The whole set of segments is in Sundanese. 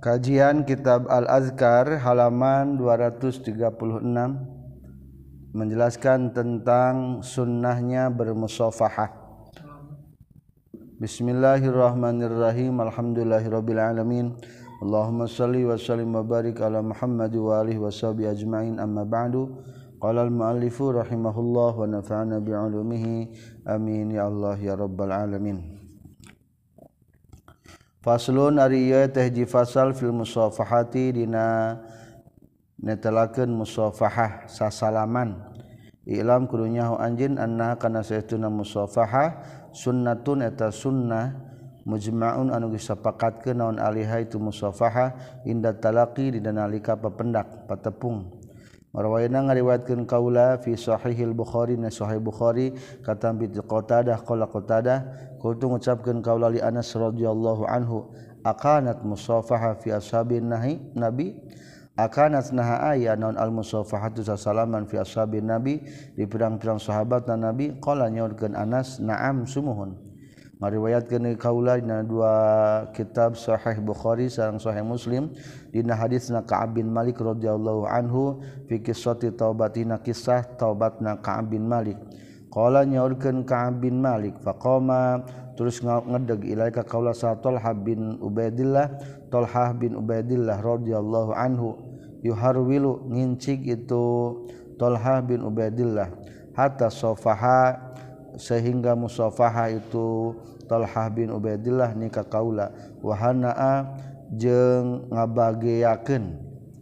Kajian Kitab Al-Azkar halaman 236 menjelaskan tentang sunnahnya bermusafahah. Bismillahirrahmanirrahim. Alhamdulillahirabbil alamin. Allahumma shalli wa sallim wa barik ala Muhammad wa alihi washabihi ajmain. Amma ba'du. Qala al-muallifu rahimahullah wa nafa'ana bi'ulumihi. Amin ya Allah ya rabbal alamin. Faslun ari ieu teh hiji fasal fil musafahati dina netelakeun musafahah sasalaman. Ilam kudu nyaho anjeun anna kana saestuna musafahah sunnatun eta sunnah mujma'un anu geus sapakatkeun naon alaiha itu musafahah inda talaqi dina nalika papendak patepung. Marwayna ngariwayatkeun kaula fi sahihil Bukhari na sahih Bukhari katam bi Qatadah qala Qatadah kultu ngucapkeun kaula li Anas radhiyallahu anhu akanat musafaha fi ashabin nabi akanat naha aya naon al musafahatu salaman fi ashabin nabi di pirang-pirang sahabatna nabi qala nyaurkeun Anas na'am sumuhun. Ngariwayatkeun kaula dina dua kitab sahih Bukhari sareng sahih Muslim dina hadisna Ka'ab bin Malik radhiyallahu anhu fi qissati taubatina kisah taubatna Ka'ab bin Malik. Qala nyaurkeun Ka'ab bin Malik faqama terus ngedeg ilaika kaula sa Talha bin Ubaidillah radhiyallahu anhu yuharwilu ngincig itu Talha bin Ubaidillah hatta safaha sehingga musafaha itu Talha bin Ubaidillah nikah kaula wa hanaa jeung ngabageakeun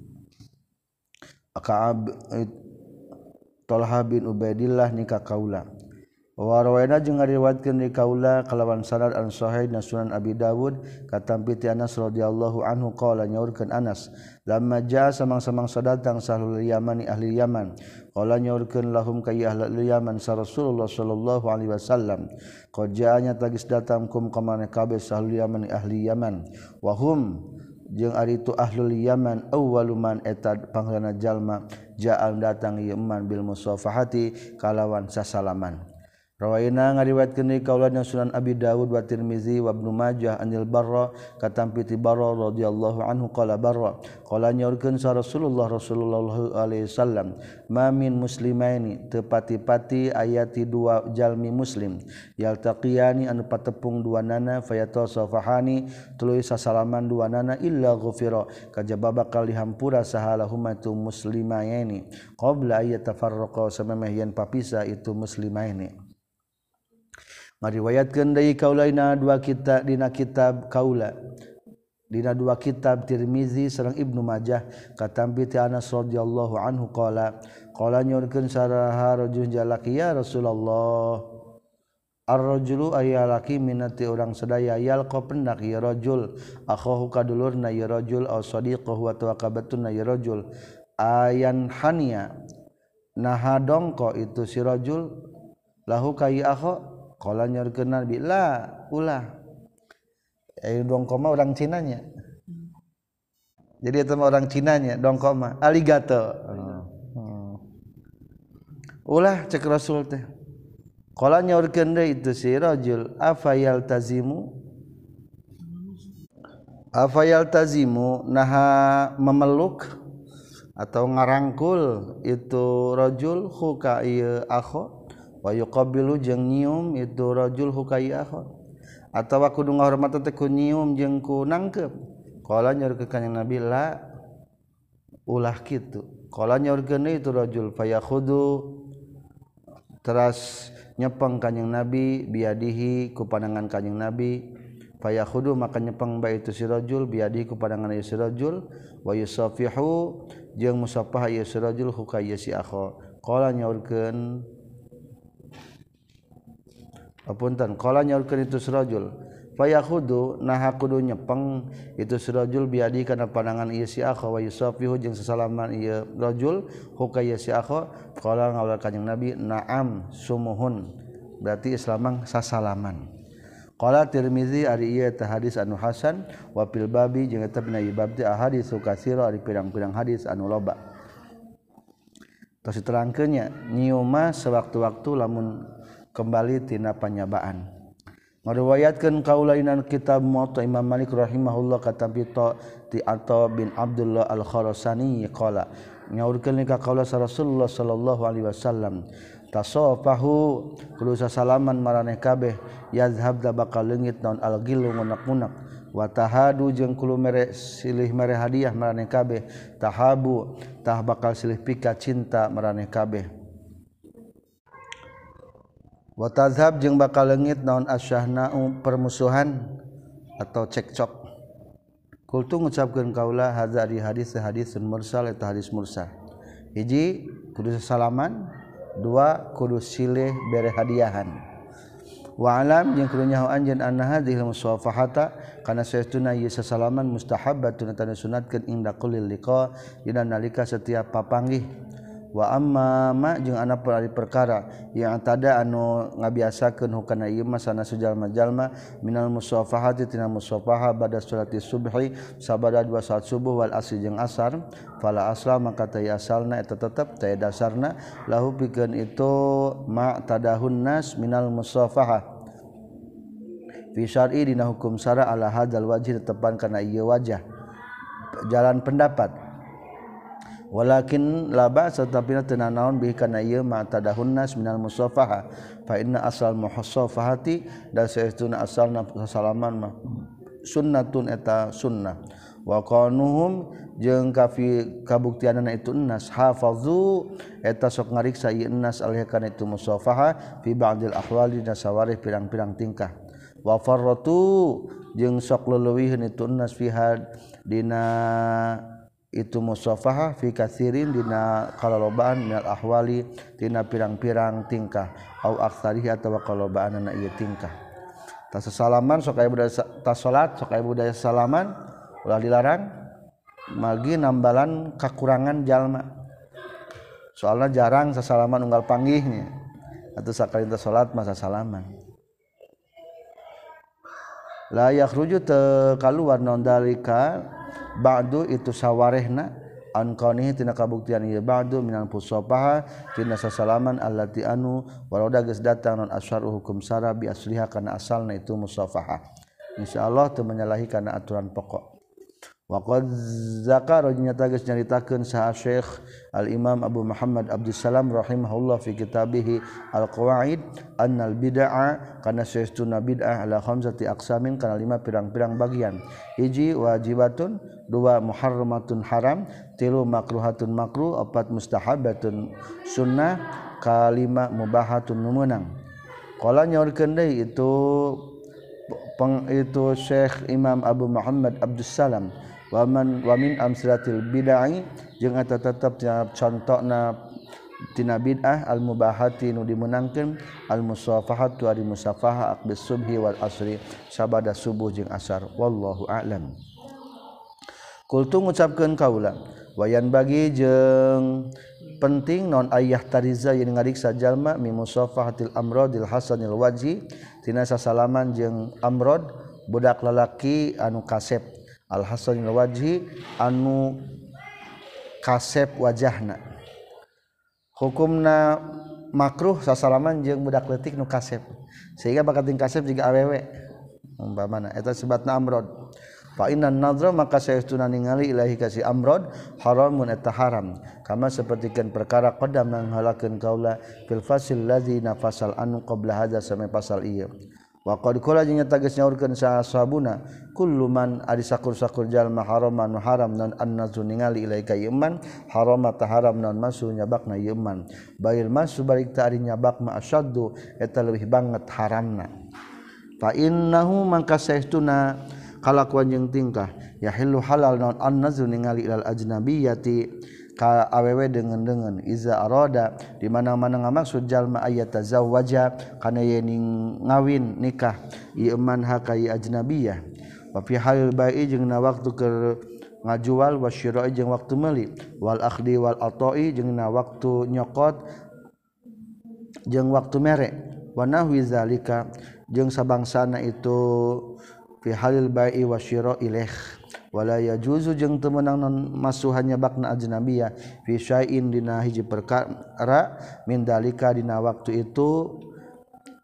Ka'ab Talha bin Ubaidillah nikah kaula wa rawaina jeung ngariwayatkeun di kaula kalawan sanad an sahih na Sunan Abi Dawud katampi ti Anas radhiyallahu anhu qala nyaurkeun Anas lamma jaa samang-samangsa datang sahlul Yamani ahli Yaman qala nyaurkeun lahum ka ahli Yaman sa Rasulullah sallallahu alaihi wasallam qad jaa'nya tagis datang kum ka maneh kabeh sahlul Yamani ahli Yaman wa hum jeung ari itu ahlul Yaman awwaluman eta panglana jalma ja'al datang ieu man bil musafahati kalawan sasalaman. Rawaina ngariwayatkeun deui kaula Sunan Abi Dawud wa Tirmizi wa Ibnu Majah anil Barra katampi ti Barra radhiyallahu anhu qala Barra qala nyaurkeun sa Rasulullah alaihi wasallam ma min muslimaini teu pati-pati ayati dua jalmi muslim yaltaqiyani anu patepung duanana fayatasafahani tuluy sasalaman duanana illa ghufira kajaba bakal dihampura sahalahuma tu muslimaini qabla ayatafarraqa samemeh yen papisah itu muslimaini. Mariwayatkeun deui kaula dina dua kitab dina kitab kaula dina dua kitab Tirmizi sareng Ibnu Majah katampi ti Anas radhiyallahu anhu qala nyorkeun saraha rajul jalaki ya Rasulullah ar-rajulu ayalaki minati urang sadaya yalqa pendak ya rajul akhahu kadulurna ya rajul aw sadiqahu wa tawaqabatuna ya rajul ayan hania naha dongko itu si rajul lahu kai akha qala nyorkeun Nabi la ulah dongko mah orang Cinanya jadi eta mah orang Cinanya dongko mah aligator ulah cek Rasul teh qala nyorkeun deui itu si rajul afayal tazimu naha memeluk atau ngarangkul itu rajul huka ieu akho wa yuqabilu jeung nyium itu rajul hukaya atawa kudu ngahormat teh ku nyium jeung ku nangkep qala nyorkeun kanjing Nabi la ulah kitu qala nyorkeun itu rajul fayakhudu teras nyepeng kanjing Nabi biadihi ku pandangan kanjing Nabi fayakhudu maka nyepeng bae itu si rajul biadihi ku pandangan ieu si rajul wa yusafihu jeung musafah ieu si rajul hukaya si akha qala nyorkeun apunten qala nyaurkeun itu surajul fayakhudu naha kudu nyepeng itu surajul biadi kana pandangan ieu si akha wa yusafihu jeung sasalaman ieu rajul hukaya si akha qala ngaula kanjing Nabi na'am sumuhun berarti islamang sasalaman qala Tirmizi ari ieu teh hadis anu hasan wa fil babi jeung eta dina bab teh ahadits katsira ari pirang-pirang hadis anu loba tos diterangkeunnya nyium mah sewaktu-waktu lamun kembali tina panyabaan Ngariwayatkeun kaulainan kitab Muwatta Imam Malik rahimahullah katampi ti Atha bin Abdullah Al-Khurasani qala nyaurkeun ka kaula Rasulullah sallallahu alaihi wasallam tasafahu kudu sasalaman maraneh kabeh yazhab da bakal leungit naon al-ghillu ngunak-ngunak wa tahadu jeung kudu mere silih mere hadiah maraneh kabeh tahabu tah bakal silih pika cinta maraneh kabeh wa tazhab jeung bakal leungit naon asyahna'u permusuhan atau cekcok kultu ngucapkeun kaula hadza di hadisun mursal eta hadis mursal hiji kudu salaman dua kudu silih bere hadiahan wa alam jeung kudu nyaho anjeun anna hadhil musafahata kana saestuna ieu sasalaman mustahabbatun eta disunatkeun inda kulli liqa dina nalika setiap papanggih wa amma ma jeung anapun ari perkara yang tada anu ngabiasakeun hukana ieu mah sana sujalma-jalma minal musafahati tina musafahah bada salati subhi sabada dua salat subuh wal asri jeung asar fala asla maka teu asalna eta tetep teu dasarna lahu pikeun itu ma tadahun nas minal musafahah fi syar'i dina hukum syara ala hadzal wajhi tepan kana ieu wajah jalan pendapat walakin la ba'sa tapina teu naon bihi kana ieu ma tadahun nas minal musafaha fa inna asal muhasafahati da saestuna asalna salaman mah sunnatun eta sunnah wa qanuhum jeung kabuktianana itu nas hafazu eta sok ngariksa ieu nas alih kana itu musafaha fi ba'dil ahwali da sawarih pirang-pirang tingkah wa farratu jeung sok leuwihkeun itu nas fi dina itu musafahah fi katsirin dina kalolobaan minal ahwali dina pirang-pirang tingkah au aktsarihi atawa kalobaanna ieu tingkah tas salaman sok aya budaya tas salat sok aya budaya salaman ulah dilarang magi nambalan kakurangan jalma soalna jarang sasalaman unggal panggihnya atuh sakalinta salat masa salaman la yakhruju teu kaluar naon dalika ba'du itu sawarehna an kaunihi tina kabuktian ieu ba'du minal musafaha tina sasalaman allati anu waroda geus datang non asyaru hukum syara bi asliha kana asalna itu musafaha insyaallah teu menyalahi kana aturan pokok wa qad zakara nyata geus nyaritakeun saha Syekh Al Imam Abu Muhammad Abdussalam rahimahullah fi kitabih Al Qawaid annal bid'ah kana saestuna bid'ah ala khamsati aqsamin kana 5 pirang-pirang bagian hiji wajibatun dua muharramatun haram tilu makruhatun makruh opat mustahabatun sunnah kalima mubahatun meunang qala nyaurkeun deui itu Syekh Imam Abu Muhammad Abdussalam wa min amsalatil bid'ah jeung eta tetep contohna tina bid'ah al mubahati nu dimenangkeun al musafahatu ari musafahah aqbis subhi wal asri sabada subuh jeung asar wallahu a'lam kultu ngucapkeun kaula wayan bagi jeung penting non ayah tariza yang ngariksa jalma mi musafahatil amradil hasanil wajhi tina sasalaman jeung amrad budak lalaki anu kasep al hasanil wajhi anu kasep wajahna hukumna makruh sasalaman jeung budak leutik nu kasep sehingga bakat ting kasep jiga awewe umpamana eta sebatna amrad fa innan nadra maka saestuna ningali ilahi kasih amrad haramun eta haram kama sapertikeun perkara qadam nganghalakeun kaula fil fasil ladzi nafasal anu qabla hadza sampai pasal ieu wa qad qala jeung nyata geus nyaurkeun sahabuna kullu man ari sakur-sakur jalma haraman haram non annazu ningali ilaika iman harama ta haram non masu nyabakna iman bail masu balik ta ari nyabak ma asyaddu eta leuwih banget haramna fa innahu mangka saestuna kalakuan jeung tingkah yahillu halal non annazu ningali ilal ajnabiyati ka awewe dengan iza arada di mana-mana ngamaksud jalma ayat tazawwaja kana yen ngawin nikah ieu man hakai ajnabiyah wa fi halil bai'i jeung na waktu keur ngajual wa syira'i jeung waktu meuli wal akhdi wal ata'i jeung na waktu nyokot jeung waktu mere wa nahwi zalika jeung sabangsana itu fi halil bai'i wa syira'i ilaih wala yajuzu jeung teu meunang masuhannya bakna ajnabiyah fi syai'in dina hiji perkara min dalika dina waktu itu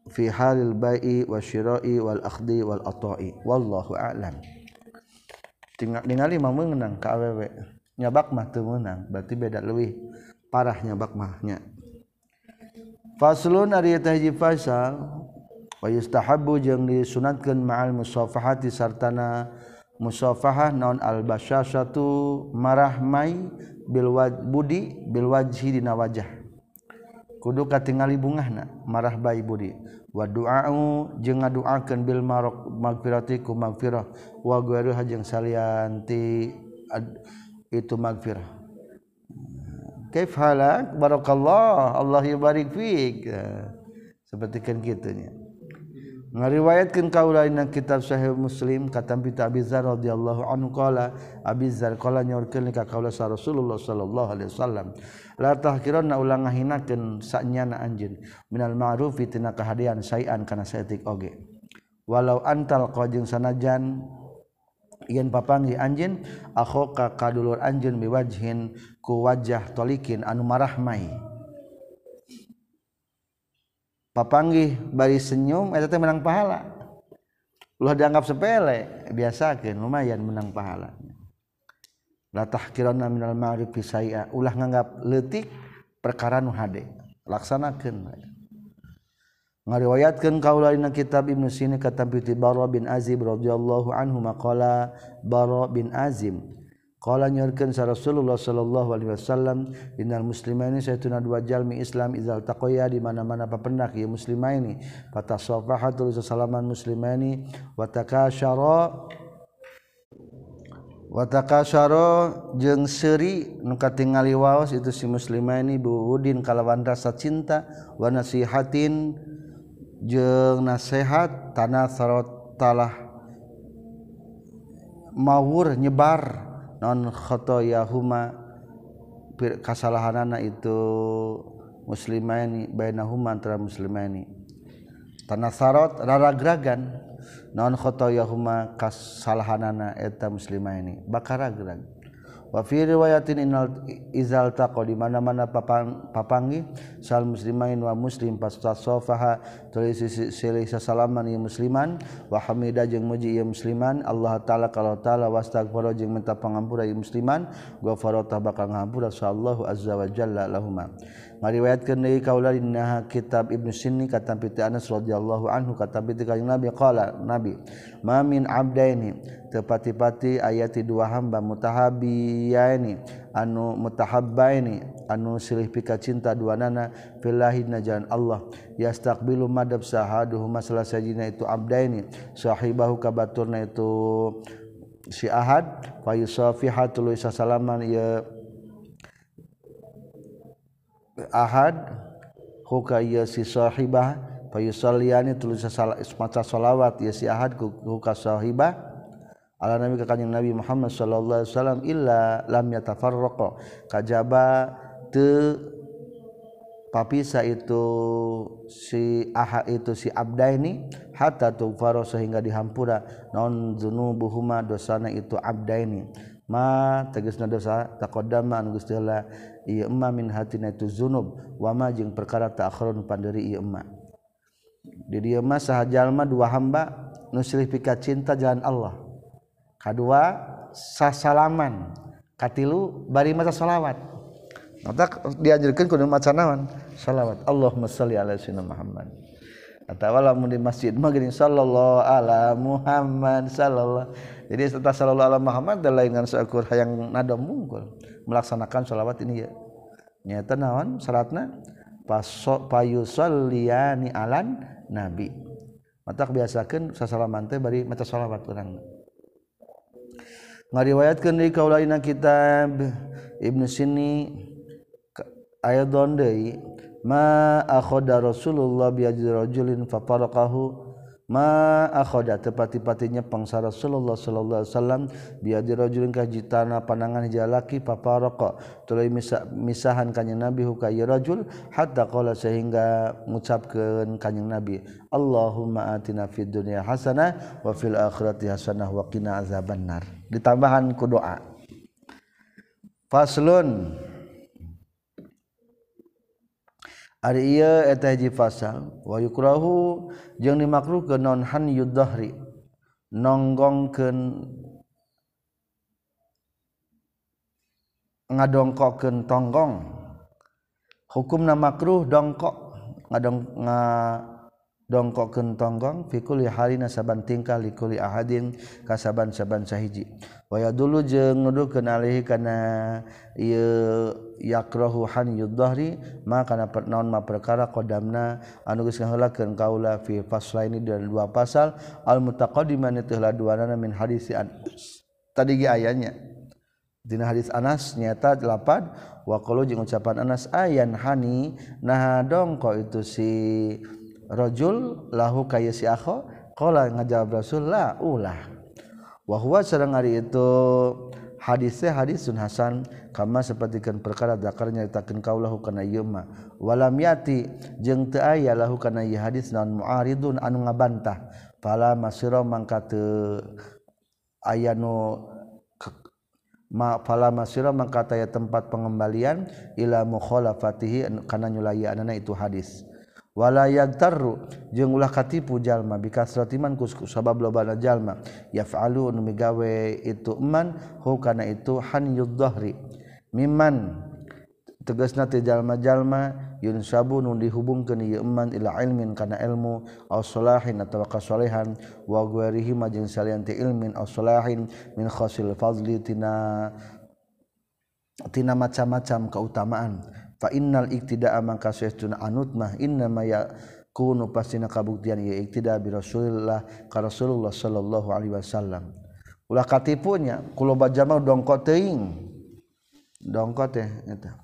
fi halil bai'i wasyira'i wal akhdi wal ata'i wallahu a'lam. Tinggal ningali mah meunang ka awewe nyabak mah teu meunang berarti beda leuwih parah nyabak mahnya. Faslun ari eta hiji fasal wa yustahabbu jeung disunatkeun ma'al musafahati sartana musafahah naon al basyashatu marahmai bil budi bil wajhi dina wajah kudu katingali bungahna marah bai budi wa du'a'u jeung ngaduakeun bil magfirati ku magfirah wa ghairuha jeung salian ti itu magfirah. Kaif halak barakallah Allah yubarik fik sapertikeun kitu nya. Ngariwayatkeun kaula dina kitab Sahih Muslim katampi Abi Dzar radhiyallahu anhu qala Abi Dzar qala nyaurkeun ka kaula sa Rasulullah sallallahu alaihi wasallam la tahkiranna ulang ngahinakeun sanyana anjeun minal ma'rufi tina kahadian sayan kana saeutik oge walau antal qajeng sanajan yen papanggih anjeun akhoka kadulur anjeun biwajhin ku wajah tolikin anu marahmai papanggih bari senyum eta teh menang pahala. Ulah dianggap sepele, biasakeun lumayan menang pahala. La tahqiranna minal ma'rifi syai'a, ulah nganggap leutik perkara nu hade. Laksanakeun. Ngariwayatkeun kaula dina kitab Ibnu Sina katampi Bara bin Azib radhiyallahu anhu maqala Bara bin Azim qala nyorkeun sa Rasulullah sallallahu alaihi wasallam innal muslimaini saytuna dua jalmi Islam izal taqoya di mana-mana papendak ieu muslimaini fatasafahatu salaman muslimaini wa takasyara jeung seuri nu katingali waos itu si muslimaini buudin kalawan rasa cinta wa nasihatin jeung nasihat tanasarat talah mawur nyebar non khotoyahuma kasalahanana itu muslimaini bainahuma antara muslimaini tanasarat raragragan non khotoyahuma kasalahanana eta muslimaini bakaragrag wa fi riwayatin innal izal taqa di mana-mana papangi sal muslimain wa muslim pastasafaha tulis silih salaman ieu musliman wa hamida jeung muji ieu musliman Allah taala kalau taala wastaghfara jeung minta pangampura ieu musliman ghafara bakal ngahampura sallallahu azza wa jalla lahumma. Ngariwayatkeun deui kaula dina kitab Ibnu Sinni katampi ti Anas radhiyallahu anhu katampi ti kanjeng Nabi qala Nabi ma min abdaini tepati-pati ayati dua hamba mutahabbiyaini anu mutahabbaini anu silih pika cinta duanana fillahi najan Allah yastaqbilu madab sahaduhuma salah sajina itu abdaini sahibahu kabaturna itu si ahad fa yusafihatul salaman ya ahad huka ya si sahibah fayusalliyani tulis maca salawat ya si ahad huka sahibah ala nabi ka kanjeng Nabi Muhammad sallallahu alaihi wasallam illa lam yatafarraqa kajaba teu papisa itu si aha itu si abdaini hatta tughfara sehingga dihampura non dzunubuhuma dosana itu abdaini ma tegasna dosa taqaddama anu geus heula ieu emma min hatina itu zunub wa ma jeung perkara ta'akhirun panderi ieu emma di dieu mah saha jalma dua hamba nu silih pika cinta jalan Allah kadua sasalaman katilu bari maca salawat mata diajarkeun kudu maca naon salawat Allahumma shalli ala sayyidina Muhammad atawa lamun di masjid mah geuning sallallahu ala Muhammad sallallahu jadi setelah sallallahu ala Muhammad da lain ngan seukur hayang nada mungkul melaksanakan salawat ini ya nyata naon syaratna payusalliyani alan nabi mata biasakeun sasalaman teh bari maca salawat urang ngariwayatkeun deui kaula dina kitab Ibnu Sinni ayadon deui ma akhadha Rasulullah bi rajulin fafaraqahu ma akhadha tepati-patinya pangsa Rasulullah sallallahu alaihi wasallam bi rajulin kajitana panangan jalaki fafaraqa tuluy misahan kanjeng Nabi ka ieu rajul hatta qala sehingga ngucapkeun kanjeng Nabi Allahumma atina fid dunya hasanah wa fil akhirati hasanah wa qina azabannar ditambahan ku doa faslun ari ieu eta hiji fasal wa yukrahu jeung dimakruhkeun naon hanyud dhahri nonggongkeun ngadongkokeun tonggong hukumna makruh dongkok ngadongkokeun tonggong fi kulli halina saban tingkah li kulli ahadin kasaban-saban sahiji wa yadullu jeung nuduhkeun alaihi kana ieu yakrahu hanyud dhahri maka kana naon ma perkara qadamna anu geus ngaheulakeun kaula fi faslaini dan dua pasal al mutaqaddiman teh laduanana min hadis tadi ge ayanya dina hadis Anas nyata lapad wa qalu jeung ucapan Anas ayan hani nah dongko itu si rajul lahu kaya si akho qala ngajawab Rasul la ulah wa huwa sareng ari itu hadisnya hadisun hasan kama sapertikeun perkara zakar nyaritakeun kaulahu kana ieu mah walam yati jeung teu aya lahu kana ieu hadis naon muaridun anu ngabantah fala masira mangka teu aya nu fala masira mangka taya tempat pengembalian ila mukhalafatihi kana nyulayaanana itu hadis wala yagtarru jeung ulah katipu jalma bikasratiman ku sabab lobana jalma yaf'alu nu migawe itu man hu kana itu hanyud dhahri mimman tegasna teh jalma-jalma yunsabu nu dihubungkeun ieu man ila ilmin kana ilmu aw salahin atawa kasolehan wa ghairihi jeung salian ti ilmin aw salahin min khasil fadli tina macam-macam keutamaan fa innal iktida'a mangka saestuna anut mah inna ma yakunu pastina kabuktian ieu iktida bi Rasulillah ka Rasulullah sallallahu alaihi wasallam ulah katipunya kulo bajama dongko teuing dongko teh eta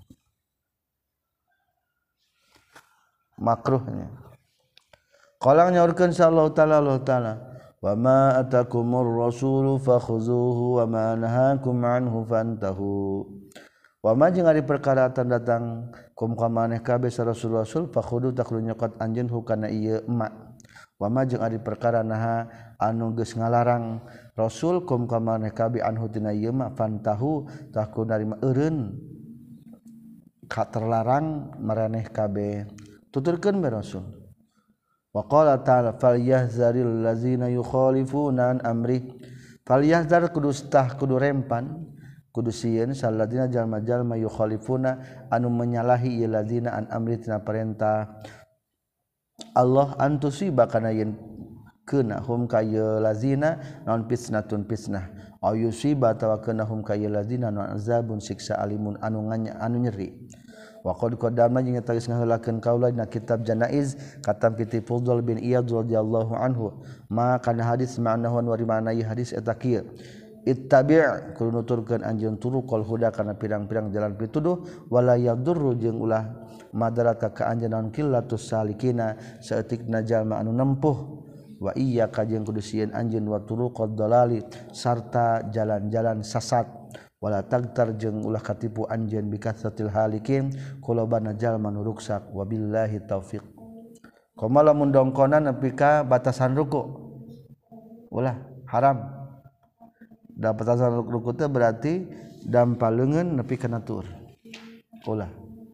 makruhnya qala nyaurkeun sallallahu taala Allah taala wa ma atakumur rasulu fakhuzuhu wa ma nahakum anhu fantahu wa ma jeung ari perkara datang kum ka maneh kabeh Rasul fakhudu taklu nyokot anjeun hukana ieu emak wa ma jeung ari perkara naha anu geus ngalarang Rasul kum ka maneh kabeh anhu tina ieu emak fantahu taklu narima eureun ka terlarang maraneh kabeh tuturkeun be Rasul wa qala ta'ala falyahzaril ladzina yukhalifuna an amri falyahzar kudu rempan kudu sieun saladina jalma-jalma yukhalifuna anu menyalahi ieu ladzina an amri tina perintah Allah antusiba kana yen keuna hum ka ieu ladzina naon fitnatun fitnah aw yusiba tawa keuna hum ka ieu ladzina naon azabun siksa alimun anu nyeri wa qad qaddama jeung eta geus ngaheulakeun kaula dina kitab janaiz katam piti Fudhal bin Iyad radhiyallahu anhu ma kana hadis ma'nahu wa rimana hadis eta kieu ittabi' kudu nuturkeun anjeun turuqal huda kana pirang-pirang jalan pituduh wala yadurru jeung ulah madarata ka anjeun naon qillatus salikina saeutikna jalma anu nempuh wa iyyaka jeung kudu sieun anjeun wa turuqad dalali sarta jalan-jalan sasat wala tagtar jeung ulah katipu anjeun bikatsatil halikin kulobana jalma nu ruksak wabillahi taufiq komo lamun dongkona nepi ka batasan ruku ulah haram da batasan ruku teh berarti dampaleungeun nepi kana tur ulah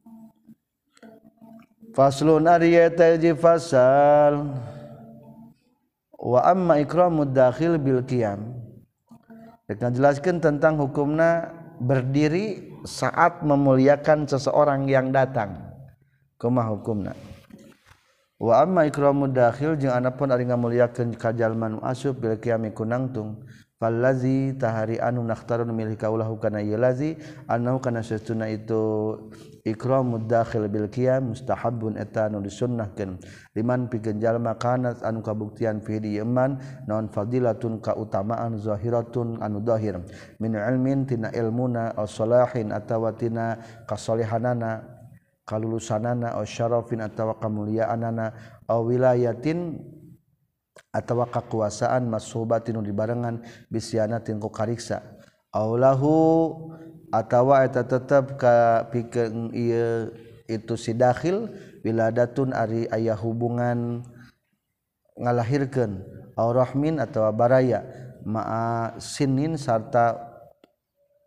faslun ariyata fasal wa amma ikramud dakhil bil qiyam rek ngajelaskeun tentang hukumna berdiri saat memuliakan seseorang yang datang kumaha hukumna wa amma ikramud dakhil jeung anapun ari ngamuliakeun ka jalma nu asup bil qiyam ku nangtung fallazi tahari anu nakhtarun milih kaulahu kana ieu lazi annahu kana satuna itu ikramud dakhil bil qiyam mustahabun eta anu disunnahkeun liman pikeun jalma kana anu kabuktian fi di iman naon fadilatun kautamaan zahiratun anu zahir min ilmin tina ilmuna aw salahin atawa tina kasalihanana kalulusanana aw syarafin atawa kamuliaanana aw wilayatin atawa kakuasaan masubatin dibarengan bisyanatin ku kariksa aulahu atawa eta tetep ka pikeun ieu itu si dakhil wiladatun ari aya hubungan ngalahirkeun aw rahmin atawa baraya ma'a sinin sarta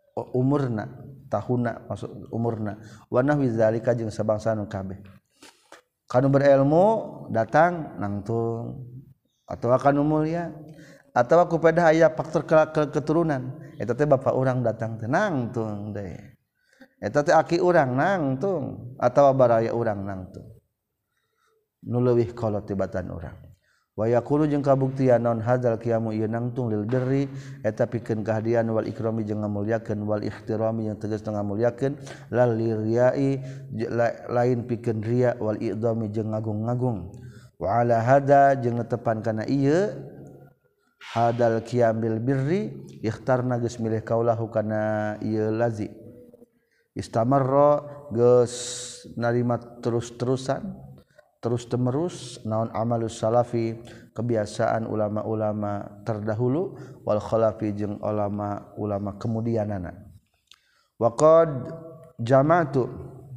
umurna tahuna maksud umurna wa nahwi zalika jeung sabangsa nu kabeh kanu berilmu datang nangtung atawa kanu mulia atawa kupeda aya faktor keturunan eta teh bapak urang datang teh nangtung deui eta teh aki urang nangtung atawa baraya urang nangtung nu leuwih kolot tibatan urang wa yaqulu jeung kabuktian naon hadzal qiyamu ieu nangtung lil birri eta pikeun kahadian wal ikrami jeung ngamulyakeun wal ihtirami yang tegas ngamulyakeun lal liriyai lain pikeun riya wal idami jeung ngagung-ngagung wa ala hada jeung netepan kana ieu hadal qiyam bil birri ikhtarna geus milih kaulahu kana ieu lazi istamarra geus narima terus-terusan terus temerus naon amalus salafi kebiasaan ulama-ulama terdahulu wal khalafi jeung ulama-ulama kemudianana wa qad jama'tu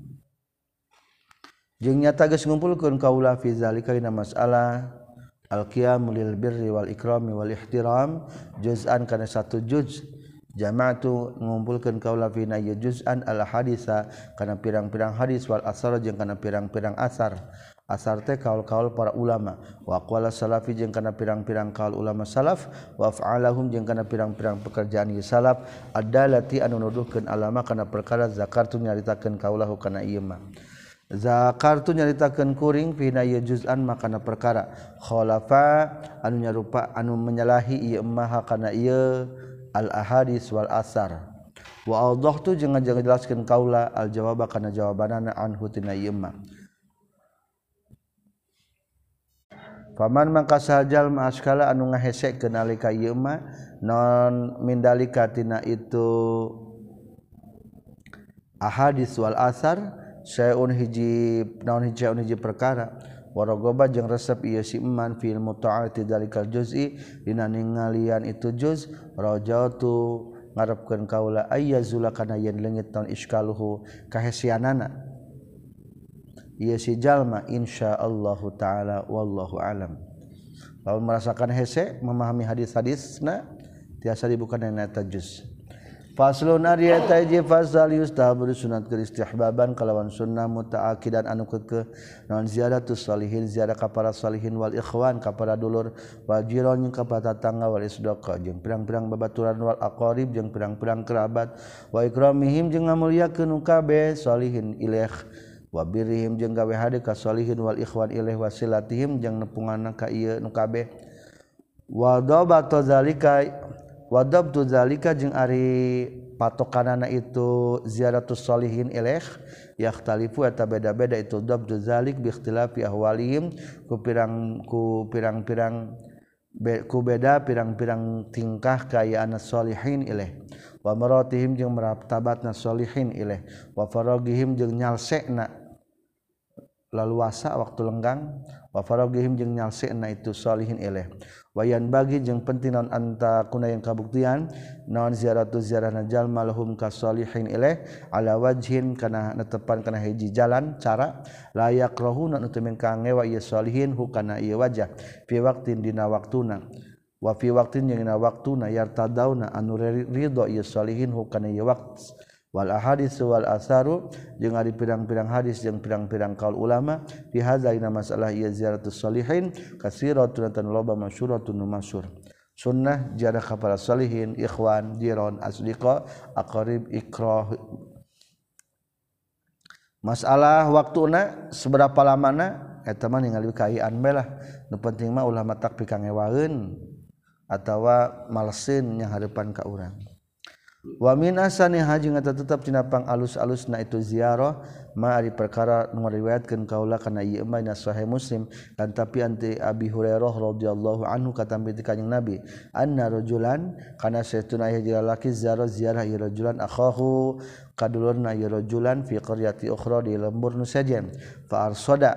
jeung nyata geus ngumpulkeun kaula fi zalika dina masalah al qiyam lil birri wal ikrami wal ihtiram juz'an kana satu juz jama'tu ngumpulkeun kaula fi na juz'an al hadisa kana pirang-pirang hadis wal asar jeung kana pirang-pirang asar asar teh kaul-kaul para ulama wa aqwala salafi jeung kana pirang-pirang kaul ulama salaf wa af'alahum jeung kana pirang-pirang pekerjaan ieu salaf adalati anu nuduhkeun alama kana perkara zakartu nyaritakeun kaulahu kana ieu mah zakartu nyaritakeun kuring pina ieu juz'an makana perkara khalafa anu nyarupa anu menyalahi ieu mah kana ieu al ahadis wal asar wa awdahtu jeung ngajelaskeun kaula al jawaba kana jawabanana anhu tina ieu mah paman mangka sahajal maaskala anu ngahesekeun nalika ieu mah non mindalika tina itu ahadis wal asar saeun hiji naon hiji perkara waragoba jeung resep ieu si iman fil muta'ati dalikal juz'i dina ningalian itu juz rajatu ngarepkeun kaula ayyazula kana yen leungit taun iskaluhu kahesianana ieu si jalma insyaallah taala wallahu alam lamun merasakan hese memahami hadis-hadisna tiasa dibuka dina eta juz faslun ari eta hiji fasal yustahabu sunat keur istihbaban kalawan sunnah mutaakidan anu keukeuh naon ziyaratus sholihin ziarah ka para sholihin wal ikhwan ka para dulur wal jiran jeung ka para tetangga wal isdaqa jeung pirang-pirang babaturan wal aqarib jeung pirang-pirang kerabat wa ikramihim jeung ngamulyakeun kabeh sholihin ilaih wa birrihim jeung gawe hade ka sholihin wal ikhwan ilaih wasilatihim jeung nepunganna ka ieu nu kabeh wa dabatu zalika jeung ari patokanana itu ziyaratus sholihin ilaih yakhtalifu eta beda-beda itu dabtu zalik bi ikhtilafi ahwalihim ku beda pirang-pirang tingkah kaayaan sholihin ilaih wa maratihim jeung martabatna sholihin ilaih wa faragihim jeung nyalsena laluasa waktu lenggang wa faragihim jeung nyalsena itu sholihin ilaih wayan bagi jeung penting naon anta kuna yang kabuktian naon ziaratu ziarahna jalma lahum ka sholihin ilaih ala wajhin kana netepan kana hiji jalan cara layak rohuna anu teu mengka ngewa ieu sholihin hukana ieu wajah fi waqtin dina waktuna wa fi waqtin jeung dina waktuna yartadauna anu ridho ieu sholihin hukana ieu waqt wal ahadits wal asaru jeung ari pirang-pirang hadis jeung pirang-pirang kaul ulama fi hadza ina masalah ieu ziyaratus sholihin kasiratun tan loba masyhuratun masyhur sunnah ziarah ka para sholihin ikhwan jiran asdiqa aqarib ikrah masalah waktuna seberapa lamana eta mah ningali kaian bae lah nu penting mah ulah matak pikangewaeun atawa malesin nya hareupan ka urang wa min asani haji ngata tetap tina pang alus-alusna itu ziarah ma ari perkara nu riwayatkeun kaula kana ieu mah na sahih Muslim kan tapi anti Abi Hurairah radhiyallahu anhu katampi ti kanjing Nabi anna rajulan kana saytuna hiji lalaki ziarah ieu rajulan akhahu kadulurna ieu rajulan fi qaryati ukhra di lembur nu sajen fa arsada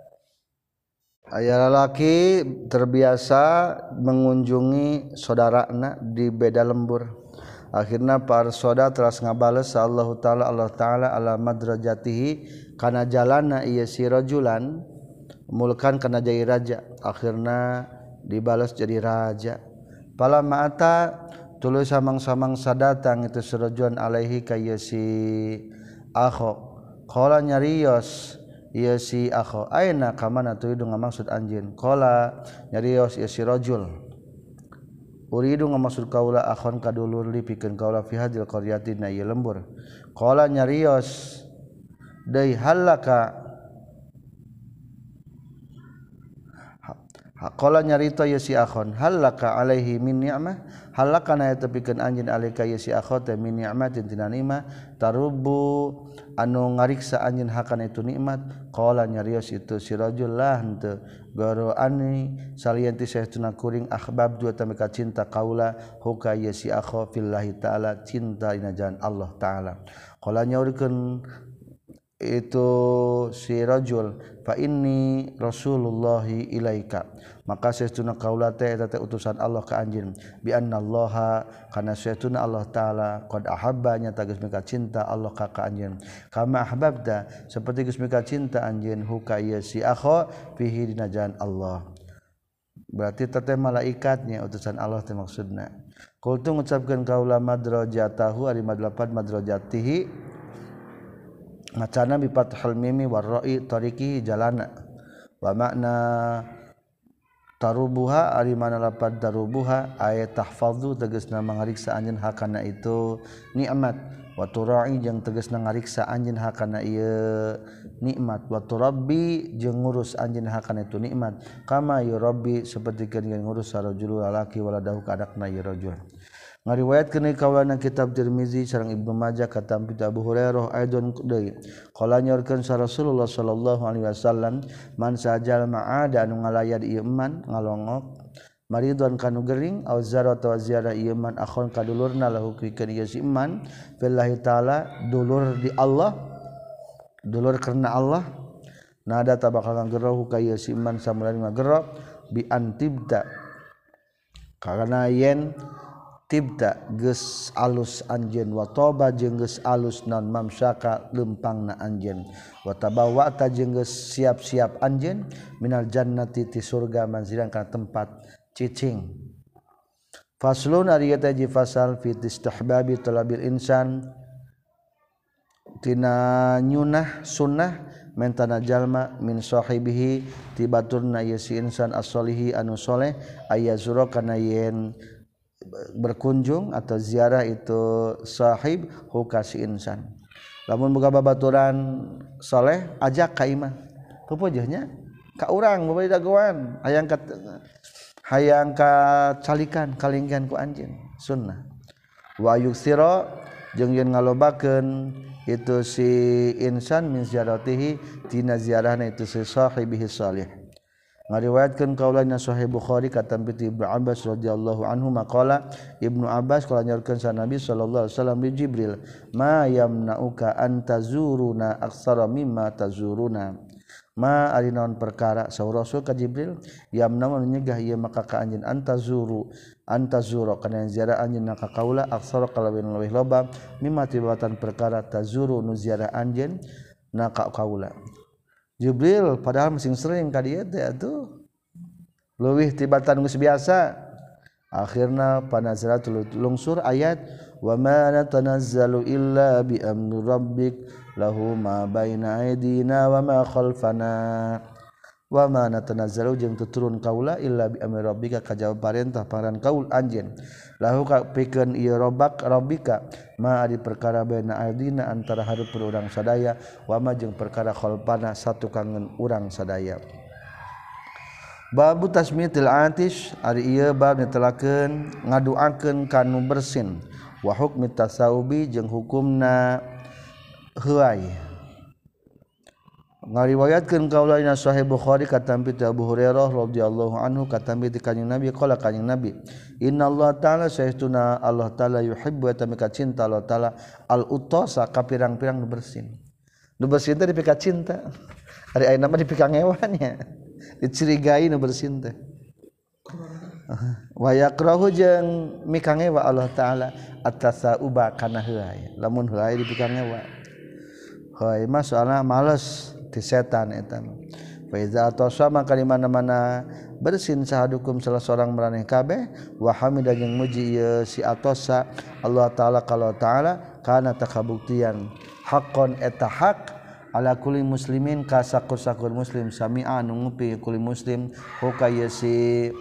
aya lalaki terbiasa mengunjungi saudarana di beda lembur akhirna para soda teras ngabales Allah taala ala madrajatihi kana jalanna ieu si rajulan mulkan kana jadi raja akhirna dibalas jadi raja pala ma'ata tuluy samang-samang sadatang itu sirajuan alaihi ka ieu si akho qala nyarios ieu si akho aina ka mana turidu ngamaksud anjeun qala nyarios ieu si rajul uridu ngamaksud kaula akhon kadulur li pikeun kaula fi hadil qaryati na ieu lembur qala nyarios deui halaka qala nyarita ieu si akhon halaka alaihi min ni'mah halaka na tepikeun anjeun alaika ieu si akho teh min ni'matin tina nikmat tarubu anu ngariksa anjeun hakana itu nikmat qala nyarios itu si rajul lah henteu garo ani salian ti saestuna kuring ahbab dua tamika cinta kaula huka ieu si akho fillahi taala cinta dina jalan Allah taala qala nyaurikeun itu si rajul fa inni rasulullahi ilaika maka saestuna kaula teh eta teh utusan Allah ka anjeun bi annallaha kana saestuna Allah taala qad ahabba nya geus mika cinta Allah ka anjeun kama ahbabta saperti geus mika cinta anjeun huka ieu si akho fihi dina jalan Allah berarti teh malaikatnya utusan Allah teh maksudna qultu ngucapkeun kaula madrajatahu ari madlapan madrajatihi macana bi fathul mimi warra'i tariqi jalana wa makna tarubuha ari mana lapad tarubuha ayat tahfazu tegasna mangariksa anjeun hakana itu nikmat wa tura'i jeung tegasna ngariksa anjeun hakana ieu nikmat wa turabbi jeung ngurus anjeun hakana itu nikmat kama yurabbi sapertikeun ngurus sarajul lalaki waladahu ka anakna ieu rajul ngariwayatkeun kaulana kitab Tirmizi sareng Ibnu Majah katampi Abu Hurairah aidon deui qala nyorkeun sa Rasulullah sallallahu alaihi wasallam man sajal ma'ada anu ngalayad ieu man ngalongok maridon kanu gering au zarat wa ziarah ieu man akhon kadulurna lahu pikeun ieu si man billahi taala dulur di Allah dulur karena Allah nada tabakal nggeroh ka ieu si man samulana nggeroh bi antibda karena yen tibda geus alus anjeun wa toba jeung geus alus naon mamsaka lempangna anjeun wa tabawata jeung geus siap-siap anjeun minal jannati ti surga manzilan kana tempat cicing faslun ari eta ji fasal fi istihbabi talabil insan tina nyunah sunnah mentana jalma min sahibihi ti baturna ieu si insan as-solihi anu soleh ayazura kana yen berkunjung atau ziarah itu sahib hukasi insan lamun boga babaturan soleh ajak ka imah pupujeuhnya ka urang babari dagoan hayang ka calikan kalinggihan ku anjeun sunnah wa yuksira jeung yen ngalobakeun itu si insan min ziaratihi tina ziarahna itu si sahibihi salih ngariwayatkeun kaulana sahih Bukhari katampi Ibnu Abbas radhiyallahu anhu maqala Ibnu Abbas qala nyorkeun sa Nabi sallallahu alaihi wasallam li Jibril ma yamna'uka an tazuruna aktsara mimma tazuruna ma ari naon perkara saur Rasul ka Jibril yamna'u nyegah ieu maka ka anjeun antazuru kana ziarah anjeun ka kaula aktsara kalawin leuwih loba mimma tibatan perkara tazuru nu ziarah anjeun na ka kaula Jibril padahal masing sering ka dieu teh atuh leuwih tibatan geus biasa akhirna panazaratul lungsur ayat wa ma natanazzalu illa bi amri rabbik lahu ma baina aydina wa ma khalfana wa ma natanazzalu jeung tuturun kaula illa bi amri rabbika kajaba parentah paran kaul anjeun lahu ka pikeun ieu rabbika ma ari perkara baina aydina antara hareup urang sadaya wa ma jeung perkara khalfana satu kangen urang sadaya babu tasmitil atish ari ieu bab netelakeun ngaduakeun kanu bersin wa hukmi tasawubi jeung hukumna heuai ngariwayatkeun kaulana sahih Bukhari katampi Abu Hurairah radhiyallahu anhu katampi ti kanjing Nabi qala kanjing Nabi innallaha ta'ala saestuna Allah taala yuhibbu tamika cinta Allah taala al utasa ka pirang-pirang nu bersin teh dipika cinta ari ayeuna mah dipika ngewannya dicirigai nu bersin teh wa yakrahu jeung mika ngewa Allah taala at-tasauba kana heuai lamun heuai dipika ngewa heuai mah soalna males ti setan eta fa iza atasama ka mana-mana bersin sahadukum salah seorang maraneh kabeh wa hamida jeung muji ieu si atasa Allah taala kalau taala kana takabuktian haqqon eta hak ala kulli muslimin ka sakur-sakur muslim sami'a anu ngupi kulli muslim hukaya si